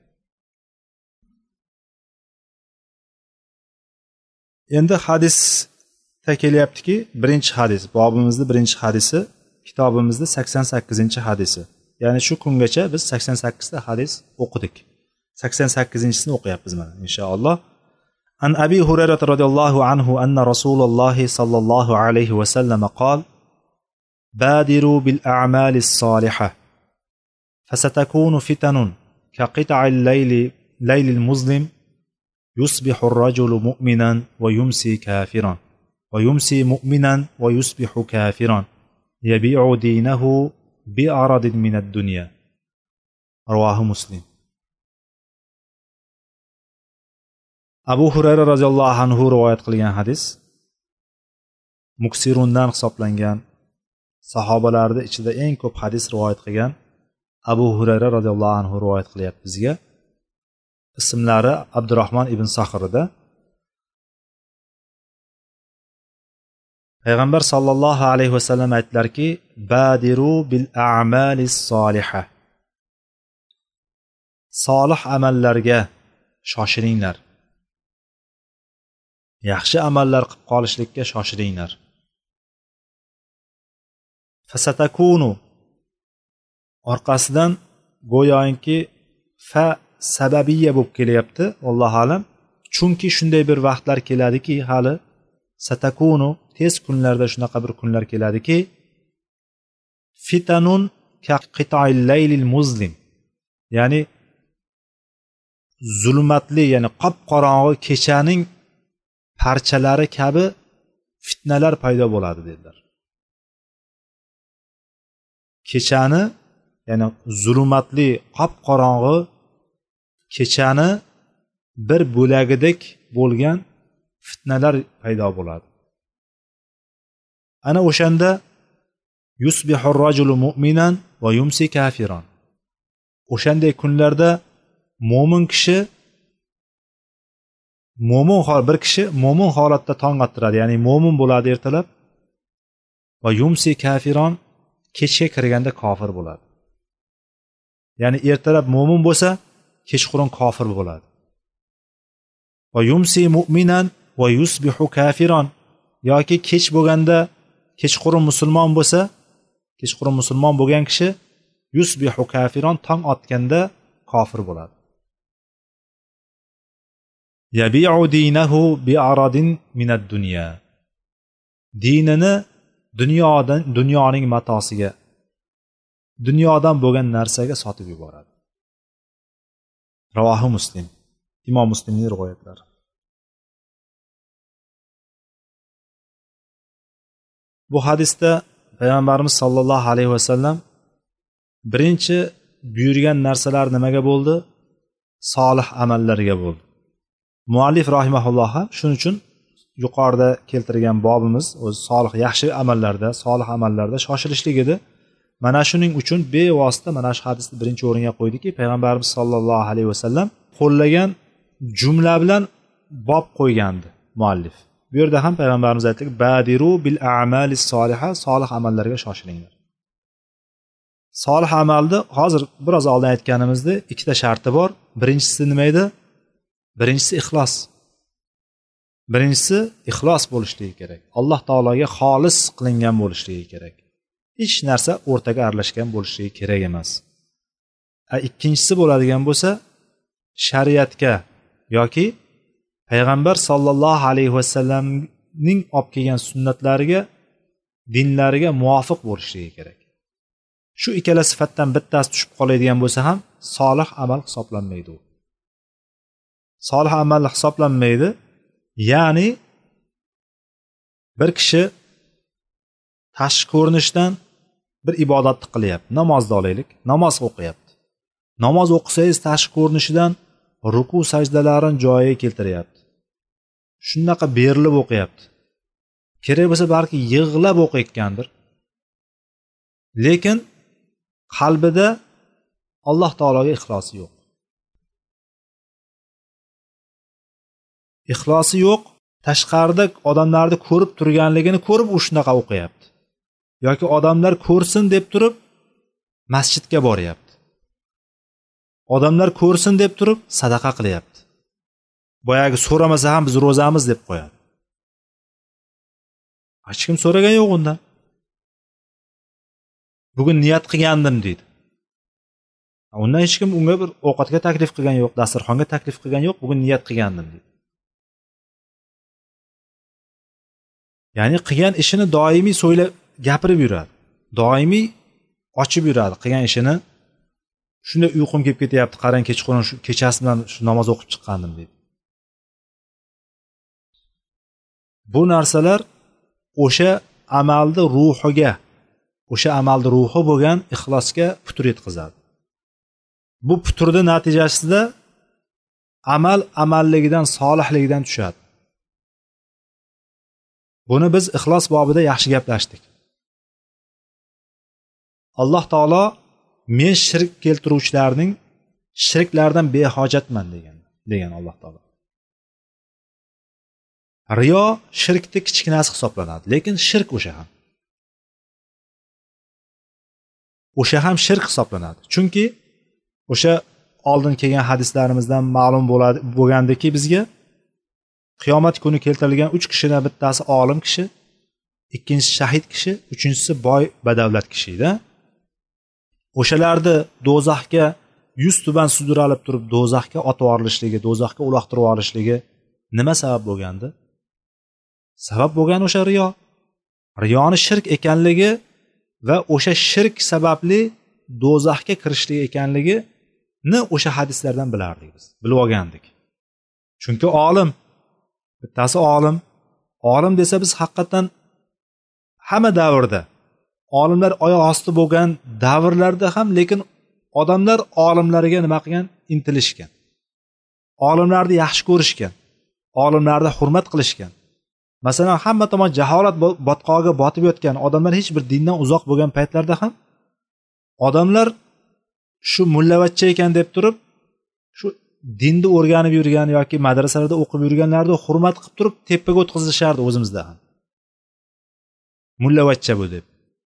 Endi hadisda kelyaptiki, birinchi hadis, bobimizning birinchi hadisi, kitobimizning 88-hadisi. Ya'ni shu kungacha biz 88 ta hadis o'qidik. 88-sini o'qiyapmiz mana inshaalloh. An Abi Hurayra radhiyallohu anhu anna Rasululloh sallallohu alayhi va sallam qol: "Badiru bil a'malis solihah fasatakunu fitanun kaqita'il laylil muzlim yusbihu ar-rajulu mu'minan wa yumsi kafiran wa yumsi mu'minan wa yusbihu kafiran yabi'u dinahu bi'aradin min ad-dunya." Rivohi Muslim. Abu Hurayra radhiyallohu anhu rivoyat qilgan hadis, muksirundan hisoblangan sahobalarning ichida eng ko'p hadis rivoyat qilgan Abu Hurayra radhiyallohu anhu rivoyat qilyapti bizga. Ismlari Abdurrahmon ibn Saxrida. Payg'ambar sallallohu alayhi va sallam aytdilarki: "Badiru bil a'malis solihah." Solih amallarga shoshilinglar. Yaxshi amallar qilib qolishlikka shoshilinglar. Fasatakunu orqasidan go'yoki fa sababiyya bo'lib kelyapti, Alloh alam. Chunki shunday bir vaqtlar keladiki, hali satakunu tez kunlarda shunaqa bir kunlar keladiki, fitanun ka qita'il laylil muzlim, ya'ni zulmatli, ya'ni qop-qorong'i kechaning parchalari kabi fitnalar paydo bo'ladi dedilar. Kechani, ya'ni zulmatli, qop-qorong'i kechani bir bo'lagidek bo'lgan fitnalar paydo bo'ladi. Ana o'shanda yusbihur rajulu mu'minan va yumsi kafiran. O'shanday kunlarda mo'min kishi bir kishi mo'min holatda tong ottiradi, ya'ni mo'min bo'ladi ertalab, va yumsi kafiron, kechga kirganda kofir bo'ladi. Ya'ni ertalab mo'min bo'lsa, kechqurun kofir bo'ladi. Va yumsi mu'minan va yusbihu kafiron, yoki kech bo'lganda kechqurun musulmon bo'lsa, kechqurun musulmon bo'lgan kishi yusbihu kafiron, tong otganda kofir bo'ladi. Yabi'u dinahu bi'aradin minad dunya. Dinini dunyoning matosiga, dunyodan bo'lgan narsaga sotib yuboradi. Ravohi Muslim. Imom Muslimning rivoyatlari. Bu hadisda Payg'ambarimiz sollallohu alayhi vasallam birinchi buyurgan narsalar nimaga bo'ldi? Solih amallarga bo'ldi. Muallif rahimahulloh ham shuning uchun yuqorida keltirgan bobimiz o'zi solih yaxshi amallarda shoshilishlik edi. Mana shuning uchun bevosita mana shu hadisni birinchi o'ringa qo'ydiki, Payg'ambarimiz sollallohu alayhi vasallam qo'llagan jumla bilan bob qo'ygandi muallif. Bu yerda ham Payg'ambarimiz aytdi: "Badiru bil a'malis soliha", solih amallarga shoshilinglar. Solih amalni hozir biroz oldin aytganimizdek ikkita sharti bor. Birinchisi nima edi? Birinchisi ixlos. Birinchisi ixlos bo'lishligi kerak. Alloh taologa xolis qilingan bo'lishligi kerak. Hech narsa o'rtaga aralashgan bo'lishligi kerak emas. Ikkinchisi bo'ladigan bo'lsa, shariatga yoki payg'ambar sollallohu alayhi vasallamning olib kelgan sunnatlariga, dinlariga muvofiq bo'lishligi kerak. Shu ikkala sifatdan bittasi tushib qoladigan bo'lsa ham solih amal hisoblanmaydi u. Solih amal hisoblanmaydi. Ya'ni bir kishi tashqi ko'rinishdan bir ibodatni qilyapti. Namozni olaylik, namoz o'qiyapti. Namoz o'qisangiz tashqi ko'rinishidan ruku sajdalarini joyiga keltiryapti. Shunaqa berilib o'qiyapti. Kerak bo'lsa balki yig'lab o'qiyotgandir. Lekin qalbida Alloh taologa ixlosi yo'q. Ixlosi yo'q, tashqarida odamlarni ko'rib turganligini ko'rib u shunaqa o'qiyapti. Yoki odamlar ko'rsin deb turib masjidga boryapti. Odamlar ko'rsin deb turib sadaqa qilyapti. Boyagi so'ramasa ham biz ro'zamiz deb qo'yadi. Hech kim so'ragan yo'q undan. Bugun niyat qilgandim deydi. Undan hech kim unga bir ovqatga taklif qilgan yo'q, dasturxonga taklif qilgan yo'q, bugun niyat qilgandim deydi. Ya'ni qilgan ishini doimiy gapirib yuradi. Doimiy ochib yuradi qilgan ishini. Shunda uyqum kelib ketyapti, qarang kechqurun shu kechasi bilan shu namoz o'qib chiqqandim deydi. Bu narsalar o'sha amalni ruhi bo'lgan ixlosga putur yetkazadi. Bu puturning natijasida amalligidan, solihligidan tushadi. Buni biz ixlos bobida yaxshi gaplashdik. Alloh taolo men shirk keltiruvchilarning shirklardan behojatman degan Alloh taolo. Riyo shirkning kichkinasi hisoblanadi, lekin shirk o'sha ham shirk hisoblanadi. Chunki o'sha oldin kelgan hadislarimizdan ma'lum bo'lgandiki bizga qiyomat kuni keltirilgan 3 kishidan bittasi olim kishi, ikkinchisi shahid kishi, uchinchisi boy badavlat kishi edi. O'shalarni do'zaxga 100 tuban sudralib turib do'zaxga otib yuborilishligi, do'zaxga uloqtirib yuborishligi nima sabab bo'lgandi? Sabab bo'lgan o'sha riyo. Riyoni shirk ekanligi va o'sha shirk sababli do'zaxga kirishligi ekanligini o'sha hadislardan bilardik biz, bilib olgandik. Chunki olim, bittasi olim desa biz haqiqatan hamma davrda olimlar oyoq osti bo'lgan davrlarda ham, lekin odamlar olimlarga nima qilgan? Intilishgan. olimlarni yaxshi ko'rishgan, olimlarni hurmat qilishgan. Masalan, hamma tomon jaholat botqog'iga botib yotgan odamlar, hech bir dindan uzoq bo'lgan paytlarda ham odamlar shu mullavachcha ekan deb turib, shu dinni o'rganib yurgan yoki madrasalarda o'qib yurganlarni hurmat qilib turib tepaga o'tkazishardi o'zimizda ham. Mullavachcha bu deb.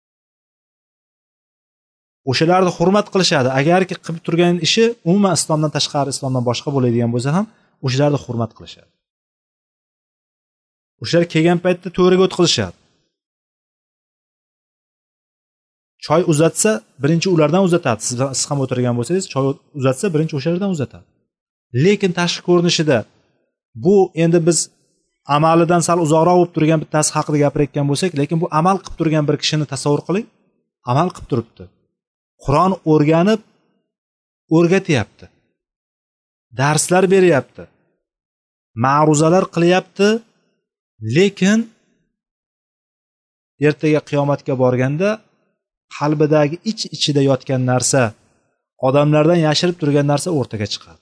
O'shalarni hurmat qilishadi. Agarki qilib turgan ishi umuman islomdan tashqari, islomdan boshqa bo'ladigan bo'lsa ham, o'shalarni hurmat qilishadi. O'shalar kelgan paytda to'riga o'tkazishadi. Choy uzatsa, birinchi ulardan uzatadi. Siz ham o'tirgan bo'lsangiz, choy uzatsa, birinchi o'shalardan uzatadi. Lekin tashqi ko'rinishida bu endi biz amalidan sal uzoqroq bo'lib turgan bittasi haqida gapirayotgan bo'lsak, lekin bu amal qilib turgan bir kishini tasavvur qiling. Amal qilib turibdi. Qur'on o'rganib o'rgatyapti. Darslar beryapti. Ma'ruzalar qilyapti. Lekin ertaga qiyomatga borganda qalbidagi ichida yotgan narsa, odamlardan yashirib turgan narsa o'rtaga chiqadi.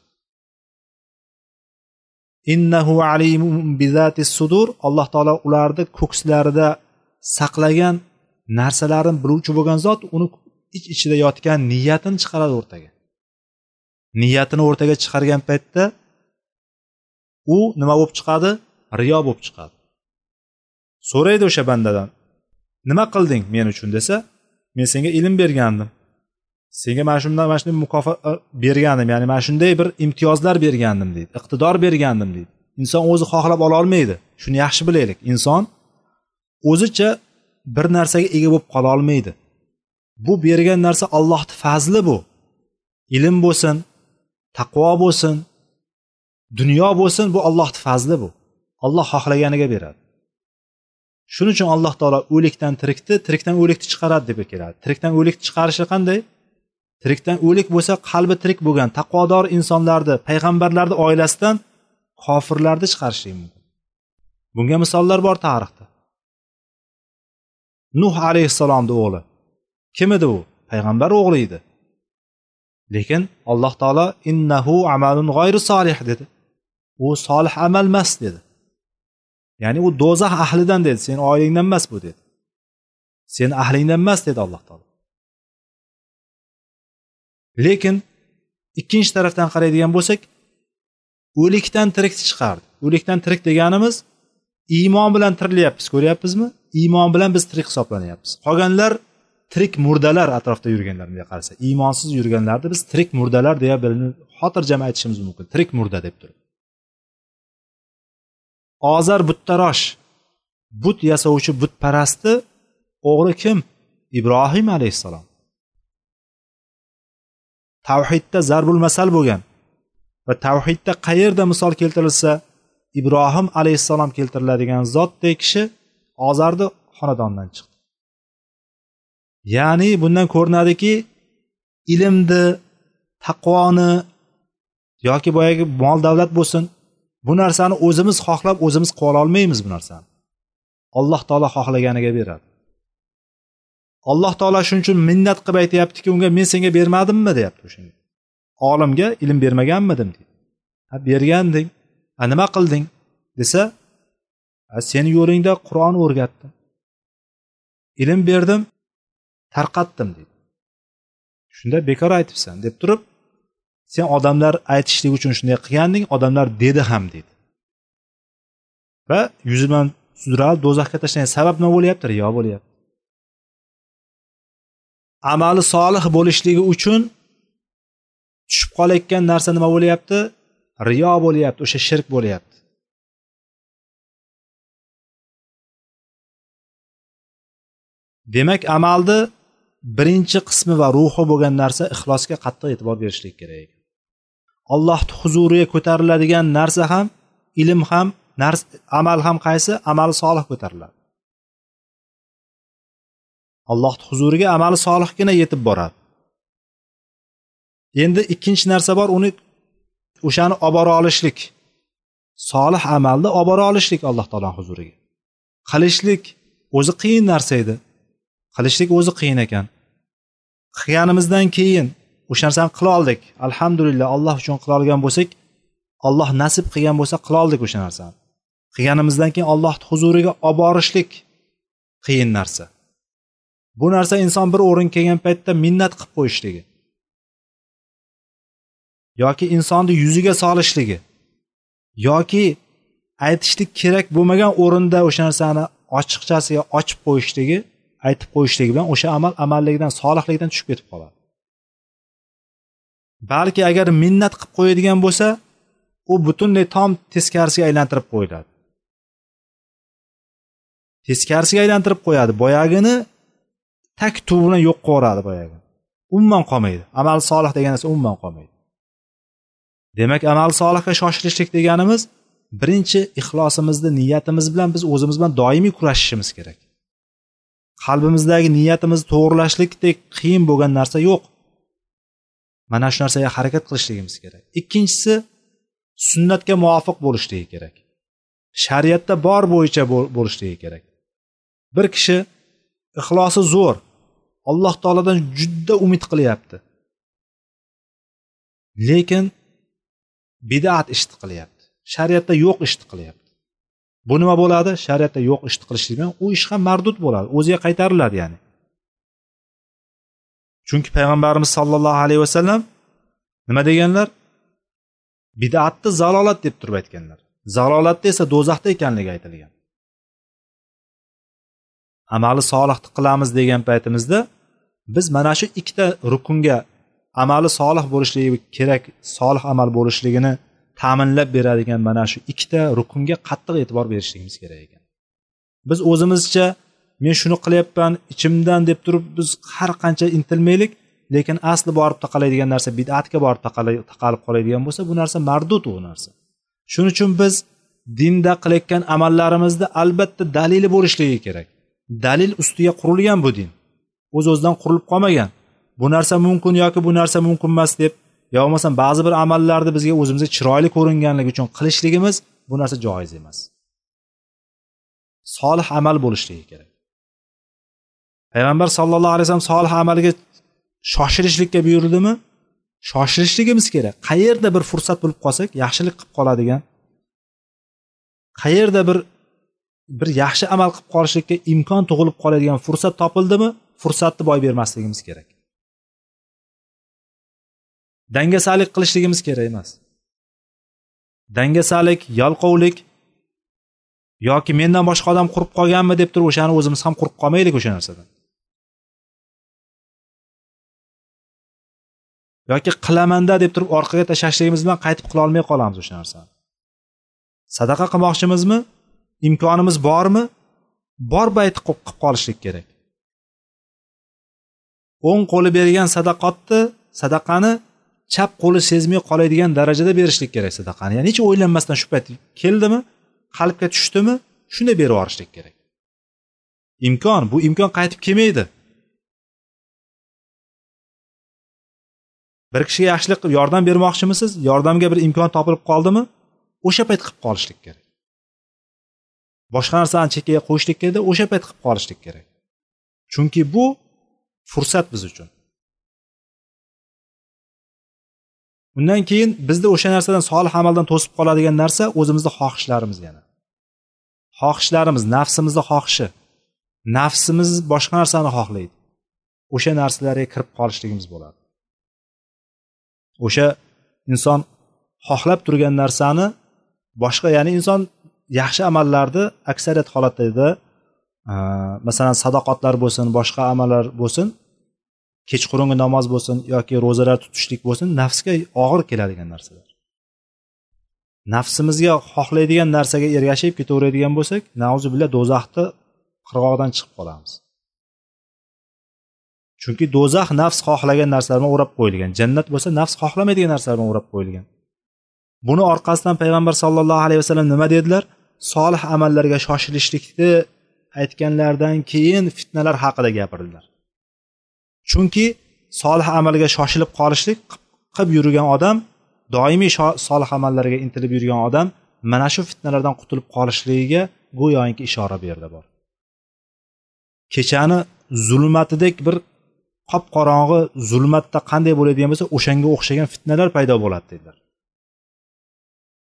Innahu alimun bizatis sudur. Alloh taolo ularni ko'kslarida saqlagan narsalarni biluvchi bo'lgan zot, uni ichida yotgan niyatini chiqaradi o'rtaga. Niyatini o'rtaga chiqargan paytda u nima bo'lib chiqadi? Riyo bo'lib chiqadi. So'raydi o'sha bandadan, nima qilding men uchun desa, men senga ilm bergandim. Senga mana shunday mukofot bergandim, ya'ni mana shunday bir imtiyozlar bergandim deydi. Iqtidor bergandim deydi. Inson o'zi xohlab ola olmaydi. Shuni yaxshi bilaylik. Inson o'zicha bir narsaga ega bo'lib qola olmaydi. Bu bergan narsa Allohning fazli bu. Ilm bo'lsin, taqvo bo'lsin, dunyo bo'lsin, bu Allohning fazli bu. Alloh xohlaganiga beradi. Shuning uchun Alloh taolo o'likdan tirikni, tirikdan o'likni chiqaradi deb keladi. Tirikdan o'likni chiqarishi qanday? Tirikdan o'lik bo'lsa, qalbi tirik bo'lgan taqvodor insonlarni, payg'ambarlarning oilasidan kofirlarni chiqarishi mumkin. Bunga misollar bor tarixda. Nuh alayhissalomning o'g'li. Kim edi u? Payg'ambar o'g'li edi. Lekin Alloh taolo innahu amalun g'ayri solih dedi. U solih amal emas dedi. Ya'ni u do'zax ahlidan dedi. Sen oilangdan emas bu dedi. Sen ahlingdan emas dedi Alloh taolo. Lekin ikkinchi tarafdan qaraydigan bo'lsak, o'likdan tirikni chiqardi. O'likdan tirik deganimiz iymon bilan tirilyapmiz, ko'ryapmizmi? Iymon bilan biz tirik hisoblanyapmiz. Qolganlar tirik murdalar atrofda yurganlar bunga qarasa, iymonsiz yurganlarni biz tirik murdalar deya bilinib, xotirjam aytishimiz mumkin. Tirik murda deb turib. Ozar buttarosh, but yasovchi butparastni o'g'li kim? Ibrohim alayhissalom. Tavhidda zarbul masal bo'lgan va tavhidda qayerda misol keltirilsa, Ibrohim alayhissalom keltiriladigan zotdek kishi Ozarni xonadonidan chiqdi. Ya'ni bundan ko'rinadiki, ilmni, taqvoni yoki boyagi mol davlat bo'lsin, bu narsani o'zimiz xohlab o'zimiz qila olmaymiz bu narsani. Alloh taolo xohlaganiga beradi. Alloh taolo shuning uchun minnat qilib aytayaptiki, unga men senga bermadimmi deyapti o'shanga. Olimga ilm bermaganmidim deydi. Ha, berganding. Ha, nima qilding desa, seni yo'lingda Qur'on o'rgatdim. Ilm berdim, tarqatdim deydi. Shunda bekor aytibsan deb turib, sen odamlar aytishlik uchun shunday qilganding, odamlar dedi ham deydi. Va yuzidan sudralib do'zaxga tashlangan sabab nima bo'lyapti? Riyo bo'lyapti. Amali solih bo'lishligi uchun tushib qolayotgan narsa nima bo'lyapti? Riyo bo'lyapti, o'sha shirk bo'lyapti. Demak, amalni birinchi qismi va ruhi bo'lgan narsa ixlosga qattiq e'tibor berishlik kerak. Allohning huzuriga ko'tariladigan narsa ham, ilm ham, amal ham qaysi? Amali solih ko'tariladi. Allohning huzuriga amali solihgina yetib boradi. Endi ikkinchi narsa bor, uni o'shani olib bora olishlik. Solih amalni olib bora olishlik Alloh taoloning huzuriga. Qilishlik o'zi qiyin narsa edi. Qilishlik o'zi qiyin ekan. Qilganimizdan keyin o'sha narsani qila oldik. Alhamdulillah, Alloh uchun qila olgan bo'lsak, Alloh nasib qilgan bo'lsa qila oldik o'sha narsani. Qilganimizdan keyin Alloh huzuriga olib borishlik qiyin narsa. Bu narsa inson bir o'rin kelgan paytda minnat qilib qo'yishligi yoki insonni yuziga solishligi yoki aytishlik kerak bo'lmagan o'rinda o'sha narsani ochiqchasiga ochib qo'yishligi, aytib qo'yishligi bilan o'sha amal amallikdan, solihlikdan tushib ketib qoladi. Balki agar minnat qilib qo'yadigan bo'lsa, u butunlay tom teskarisiga aylantirib qo'yiladi. Teskarisiga aylantirib qo'yadi. Boyagini tak tuv bilan yo'q qiladi boyagi. Umuman qolmaydi. Amal solih degan narsa umuman qolmaydi. Demak, amal solihga shoshilishlik deganimiz birinchi ixlosimizni, niyatimiz bilan biz o'zimiz bilan doimiy kurashishimiz kerak. Qalbimizdagi niyatimizni to'g'rilashlikdek qiyin bo'lgan narsa yo'q. Mana shu narsaga harakat qilishligimiz kerak. Ikkinchisi, sunnatga muvofiq bo'lishligi kerak. Shariatda bor bo'yicha bo'lishligi kerak. Bir kishi ixlosi zo'r, Alloh taoladan juda umid qilyapti. Lekin bid'at ishni qilyapti. Shariatda yo'q ishni qilyapti. Bu nima bo'ladi? Shariatda yo'q ishni qilishlik bilan u ish ham mardud bo'ladi, o'ziga qaytariladi ya'ni. Chunki payg'ambarimiz sollallohu alayhi vasallam nima deganlar? Bid'atni zalolat deb turib aytganlar. Zalolatda esa do'zaxda ekanligi aytilgan. Amali solihni qilamiz degan paytimizda biz mana shu ikkita rukunga amali solih bo'lishligi kerak, solih amal bo'lishligini ta'minlab beradigan mana shu ikkita rukunga qattiq e'tibor berishligimiz kerak ekan. Biz o'zimizcha men shuni qilyapman ichimdan deb turib biz har qancha intilmaylik, lekin asli borib taqalaydigan narsa bid'atga borib taqalib qoladigan bo'lsa, bu narsa mardud u narsa. Shuning uchun biz dinda qilayotgan amallarimizda albatta dalili bo'lishligi kerak. Dalil ustiga qurilgan bu din. O'z-o'zidan qurilib qolmagan. Bu narsa mumkin yoki bu narsa mumkin emas deb, yo bo'lmasam ba'zi bir amallarni bizga o'zimizga chiroyli ko'ringanligi uchun qilishligimiz bu narsa joiz emas. Solih amal bo'lishligi kerak. Payg'ambar sollallohu alayhi vasallam solih amaliga shoshilishlikka buyurdimi? Shoshilishligimiz kerak. Qayerda bir fursat bo'lib qolsak, yaxshilik qilib qoladigan, qayerda bir yaxshi amal qilib qolishlikka imkon tug'ilib qoladigan fursat topildimi, fursatni boy bermasligimiz kerak. Dangasalik qilishligimiz kerak emas. Dangasalik, yalqovlik yoki mendan boshqa odam qurib qolganmi deb turib o'shani o'zimiz ham qurib qolmaylik o'sha narsadan. Yoki qilamanda deb turib orqaga tashlashligimiz bilan qaytib qila olmay qolamiz o'sha narsani. Sadaqa qilmoqchimizmi? Imkonimiz bormi? Bor bayt qilib qolishlik kerak. O'ng qo'li bergan sadaqani chap qo'li sezmay qoladigan darajada berishlik kerak sadaqani. Ya'ni hech o'ylanmasdan shu payt keldimi, qalbga tushdimi, shunday berib yuborishlik kerak. Bu imkon qaytib kelmaydi. Bir kishiga yaxshilik qilib yordam bermoqchimisiz? Yordamga bir imkon topilib qoldimi? O'sha payt qilib qolishlik kerak. Boshqa narsani chekkaga qo'yishlik kerak, o'sha payt qilib qolishlik kerak. Chunki bu fursat biz uchun. Undan keyin bizda o'sha narsadan solih amaldan to'sib qoladigan narsa o'zimizning xohishlarimiz yana. Xohishlarimiz, nafsimizning xohishi. Nafsimiz boshqa narsani xohlaydi. O'sha narsalarga kirib qolishligimiz bo'ladi. O'sha inson xohlab turgan narsani boshqa, ya'ni inson yaxshi amallarni aksariyat holatlarda masalan sadoqatlar bo'lsin, boshqa amallar bo'lsin, kechqurungi namoz bo'lsin yoki ro'zalar tutishlik bo'lsin, nafsga og'ir keladigan narsalar. Nafsimizga xohlaydigan narsaga ergashib ketaveradigan bo'lsak, nauzubillah do'zaxni qirg'og'idan chiqib qolamiz. Chunki do'zax nafs xohlagan narsalar bilan o'rab qo'yilgan. Jannat bo'lsa nafs xohlamaydigan narsalar bilan o'rab qo'yilgan. Buni orqasidan payg'ambar sollallohu alayhi vasallam nima dedilar? Solih amallarga shoshilishlikni aytganlardan keyin fitnalar haqida gapirdilar. Chunki solih amalga shoshilib qolishlik qilib yurgan odam, doimiy solih amallarga intilib yurgan odam mana shu fitnalardan qutulib qolishligiga go'yoki ishora berdi bor. Kechani zulmatidek bir qop-qorong'i zulmatda qanday bo'ladigan bo'lsa, o'shanga o'xshagan fitnalar paydo bo'ladi dedilar.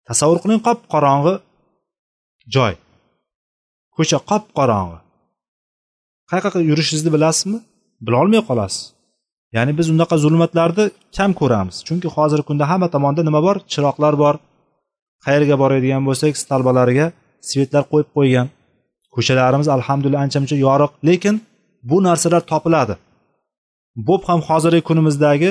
Tasavvur qiling, qop qorong'i joy, ko'cha qop qorong'i. Qayerga yurishingizni bilasizmi? Bilolmay qolasiz. Ya'ni biz unaqa zulmatlarni kam ko'ramiz, chunki hozirgi kunda hamma tomonda nima bor? Chiroqlar bor. Qayerga boradigan bo'lsak, stalbalariga svetlar qo'yib qo'ygan. Ko'chalarimiz alhamdulillah ancha-muncha yoriq, lekin bu narsalar topiladi. Bo'p ham hozirgi kunimizdagi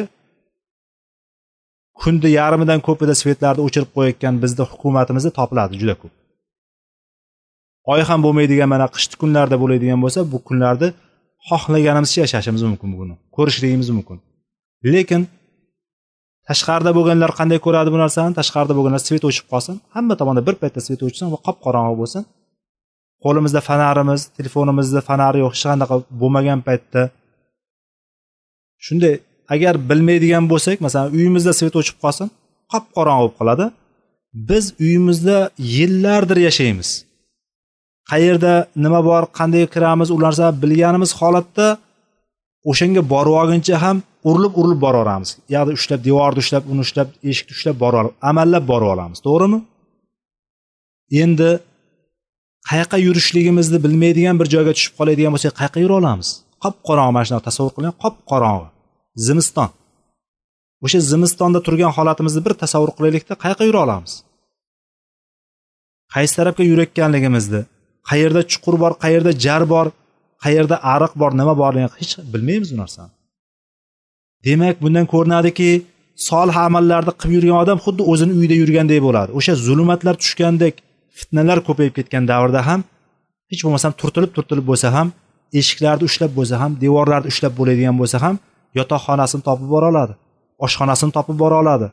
kunda yarmidan ko'pida svetlarni o'chirib qo'yayotgan bizda hukumatimizda topiladi juda ko'p. Oy ham bo'lmaydigan mana qishki kunlarda bo'ladigan bo'lsa, bu kunlarda xohlaganimizcha yashashimiz mumkin, buni ko'rishligimiz mumkin. Lekin tashqarida bo'lganlar qanday ko'radi bu narsani? Tashqarida bo'lganlar svet o'chib qolsin, hamma tomonda bir paytda svet o'chsin va qop qorong'i bo'lsin. Qo'limizda fanarimiz, telefonimizda fanari yo'q, hech qanaqa bo'lmagan paytda shunday agar bilmaydigan bo'lsak, masalan, uyimizda svet o'chib qolsin, qop qorong'i bo'lib qoladi. Biz uyimizda yillardir yashaymiz. Qayerda nima bor, qanday kiramiz, u narsani bilganimiz holatda o'shanga borib olguncha ham urilib boraveramiz. Yo'qda ushlab, devorni ushlab, uni ushlab, eshikni ushlab borib, amallab borib olamiz, to'g'rimi? Endi qayerga yurishligimizni bilmaydigan bir joyga tushib qoladigan bo'lsak, qayerga yura olamiz? Qop qorong'i, mana shuni tasavvur qiling, qop qorong'i. Zimiston. O'sha zimistonda turgan holatimizni bir tasavvur qilaylikda, qayerga yura olamiz? Qaysi tarafga yurayotganligimizni, qayerda chuqur bor, qayerda jar bor, qayerda ariq bor, nima borligini hech bilmaymiz bu narsani. Demak, bundan ko'rinadiki, solih amallarni qilib yurgan odam xuddi o'zini uyida yurgandek bo'ladi. O'sha zulmatlar tushgandek, fitnalar ko'payib ketgan davrda ham hech bo'lmasa turtilib bo'lsa ham, eshiklarni ushlab bo'lsa ham, devorlarni ushlab bo'ladigan bo'lsa ham, yotoqxonasini topib bora oladi, oshxonasini topib bora oladi,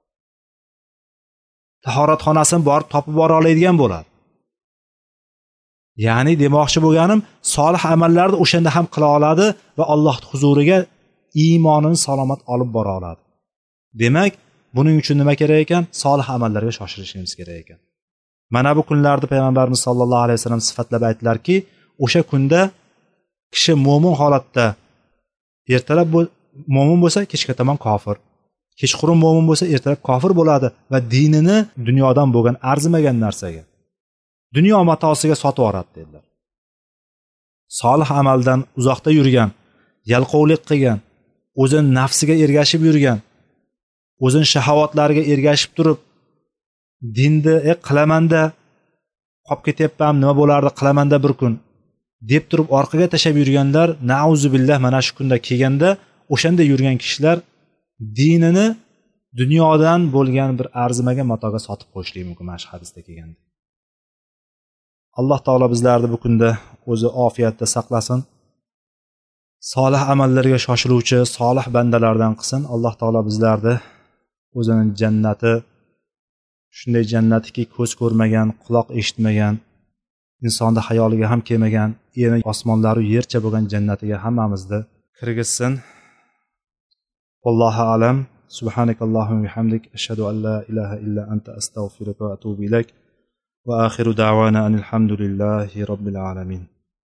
tahoratxonasini borib topib bora oladigan bo'ladi. Ya'ni demoqchi bo'lganim, solih amallarni o'shanda ham qila oladi va Alloh huzuriga iymonini salomat olib bora oladi. Demak, buning uchun nima kerak ekan? Solih amallarga shoshilishimiz kerak ekan. Mana bu kunlarda payg'ambarimiz sollallohu alayhi vasallam sifatlab aytdilarki, o'sha kunda kishi mo'min holatda ertalab mo'min bo'lsa, kechga tomon kofir. Kechqurun mo'min bo'lsa, ertalab kofir bo'ladi va dinini dunyodan bo'lgan arzimagan narsaga, dunyo matosiga sotib yuboradi dedilar. Solih amaldan uzoqda yurgan, yalqovlik qilgan, o'zini nafsiga ergashib yurgan, o'zini shahovatlariga ergashib turib, dinni qilamanda qolib ketyapman, nima bo'lardi qilamanda bir kun deb turib orqaga tashab yurganlar, nauzubillah, mana shu kunda kelganda o'shanda yurgan kishilar dinini dunyodan bo'lgan bir arzimagan matoga sotib qo'yishligi mumkin, mana shu hadisda kelganda. Alloh taolo bizlarni bu kunda o'zi ofiyatda saqlasin. Solih amallarga shoshiluvchi solih bandalardan qilsin. Alloh taolo bizlarni o'zining jannati, shunday jannatiki ko'z ko'rmagan, quloq eshitmagan, insonning xayoliga ham kelmagan, eni osmonlar va yercha bo'lgan jannatiga hammamizni kirgizsin. Vallohu alam. Subhanakallohumma va bihamdik, ashhadu an la ilaha illa anta, astaghfiruka va atubu ilayk. Wa akhiru da'wana anil hamdulillahi rabbil alamin.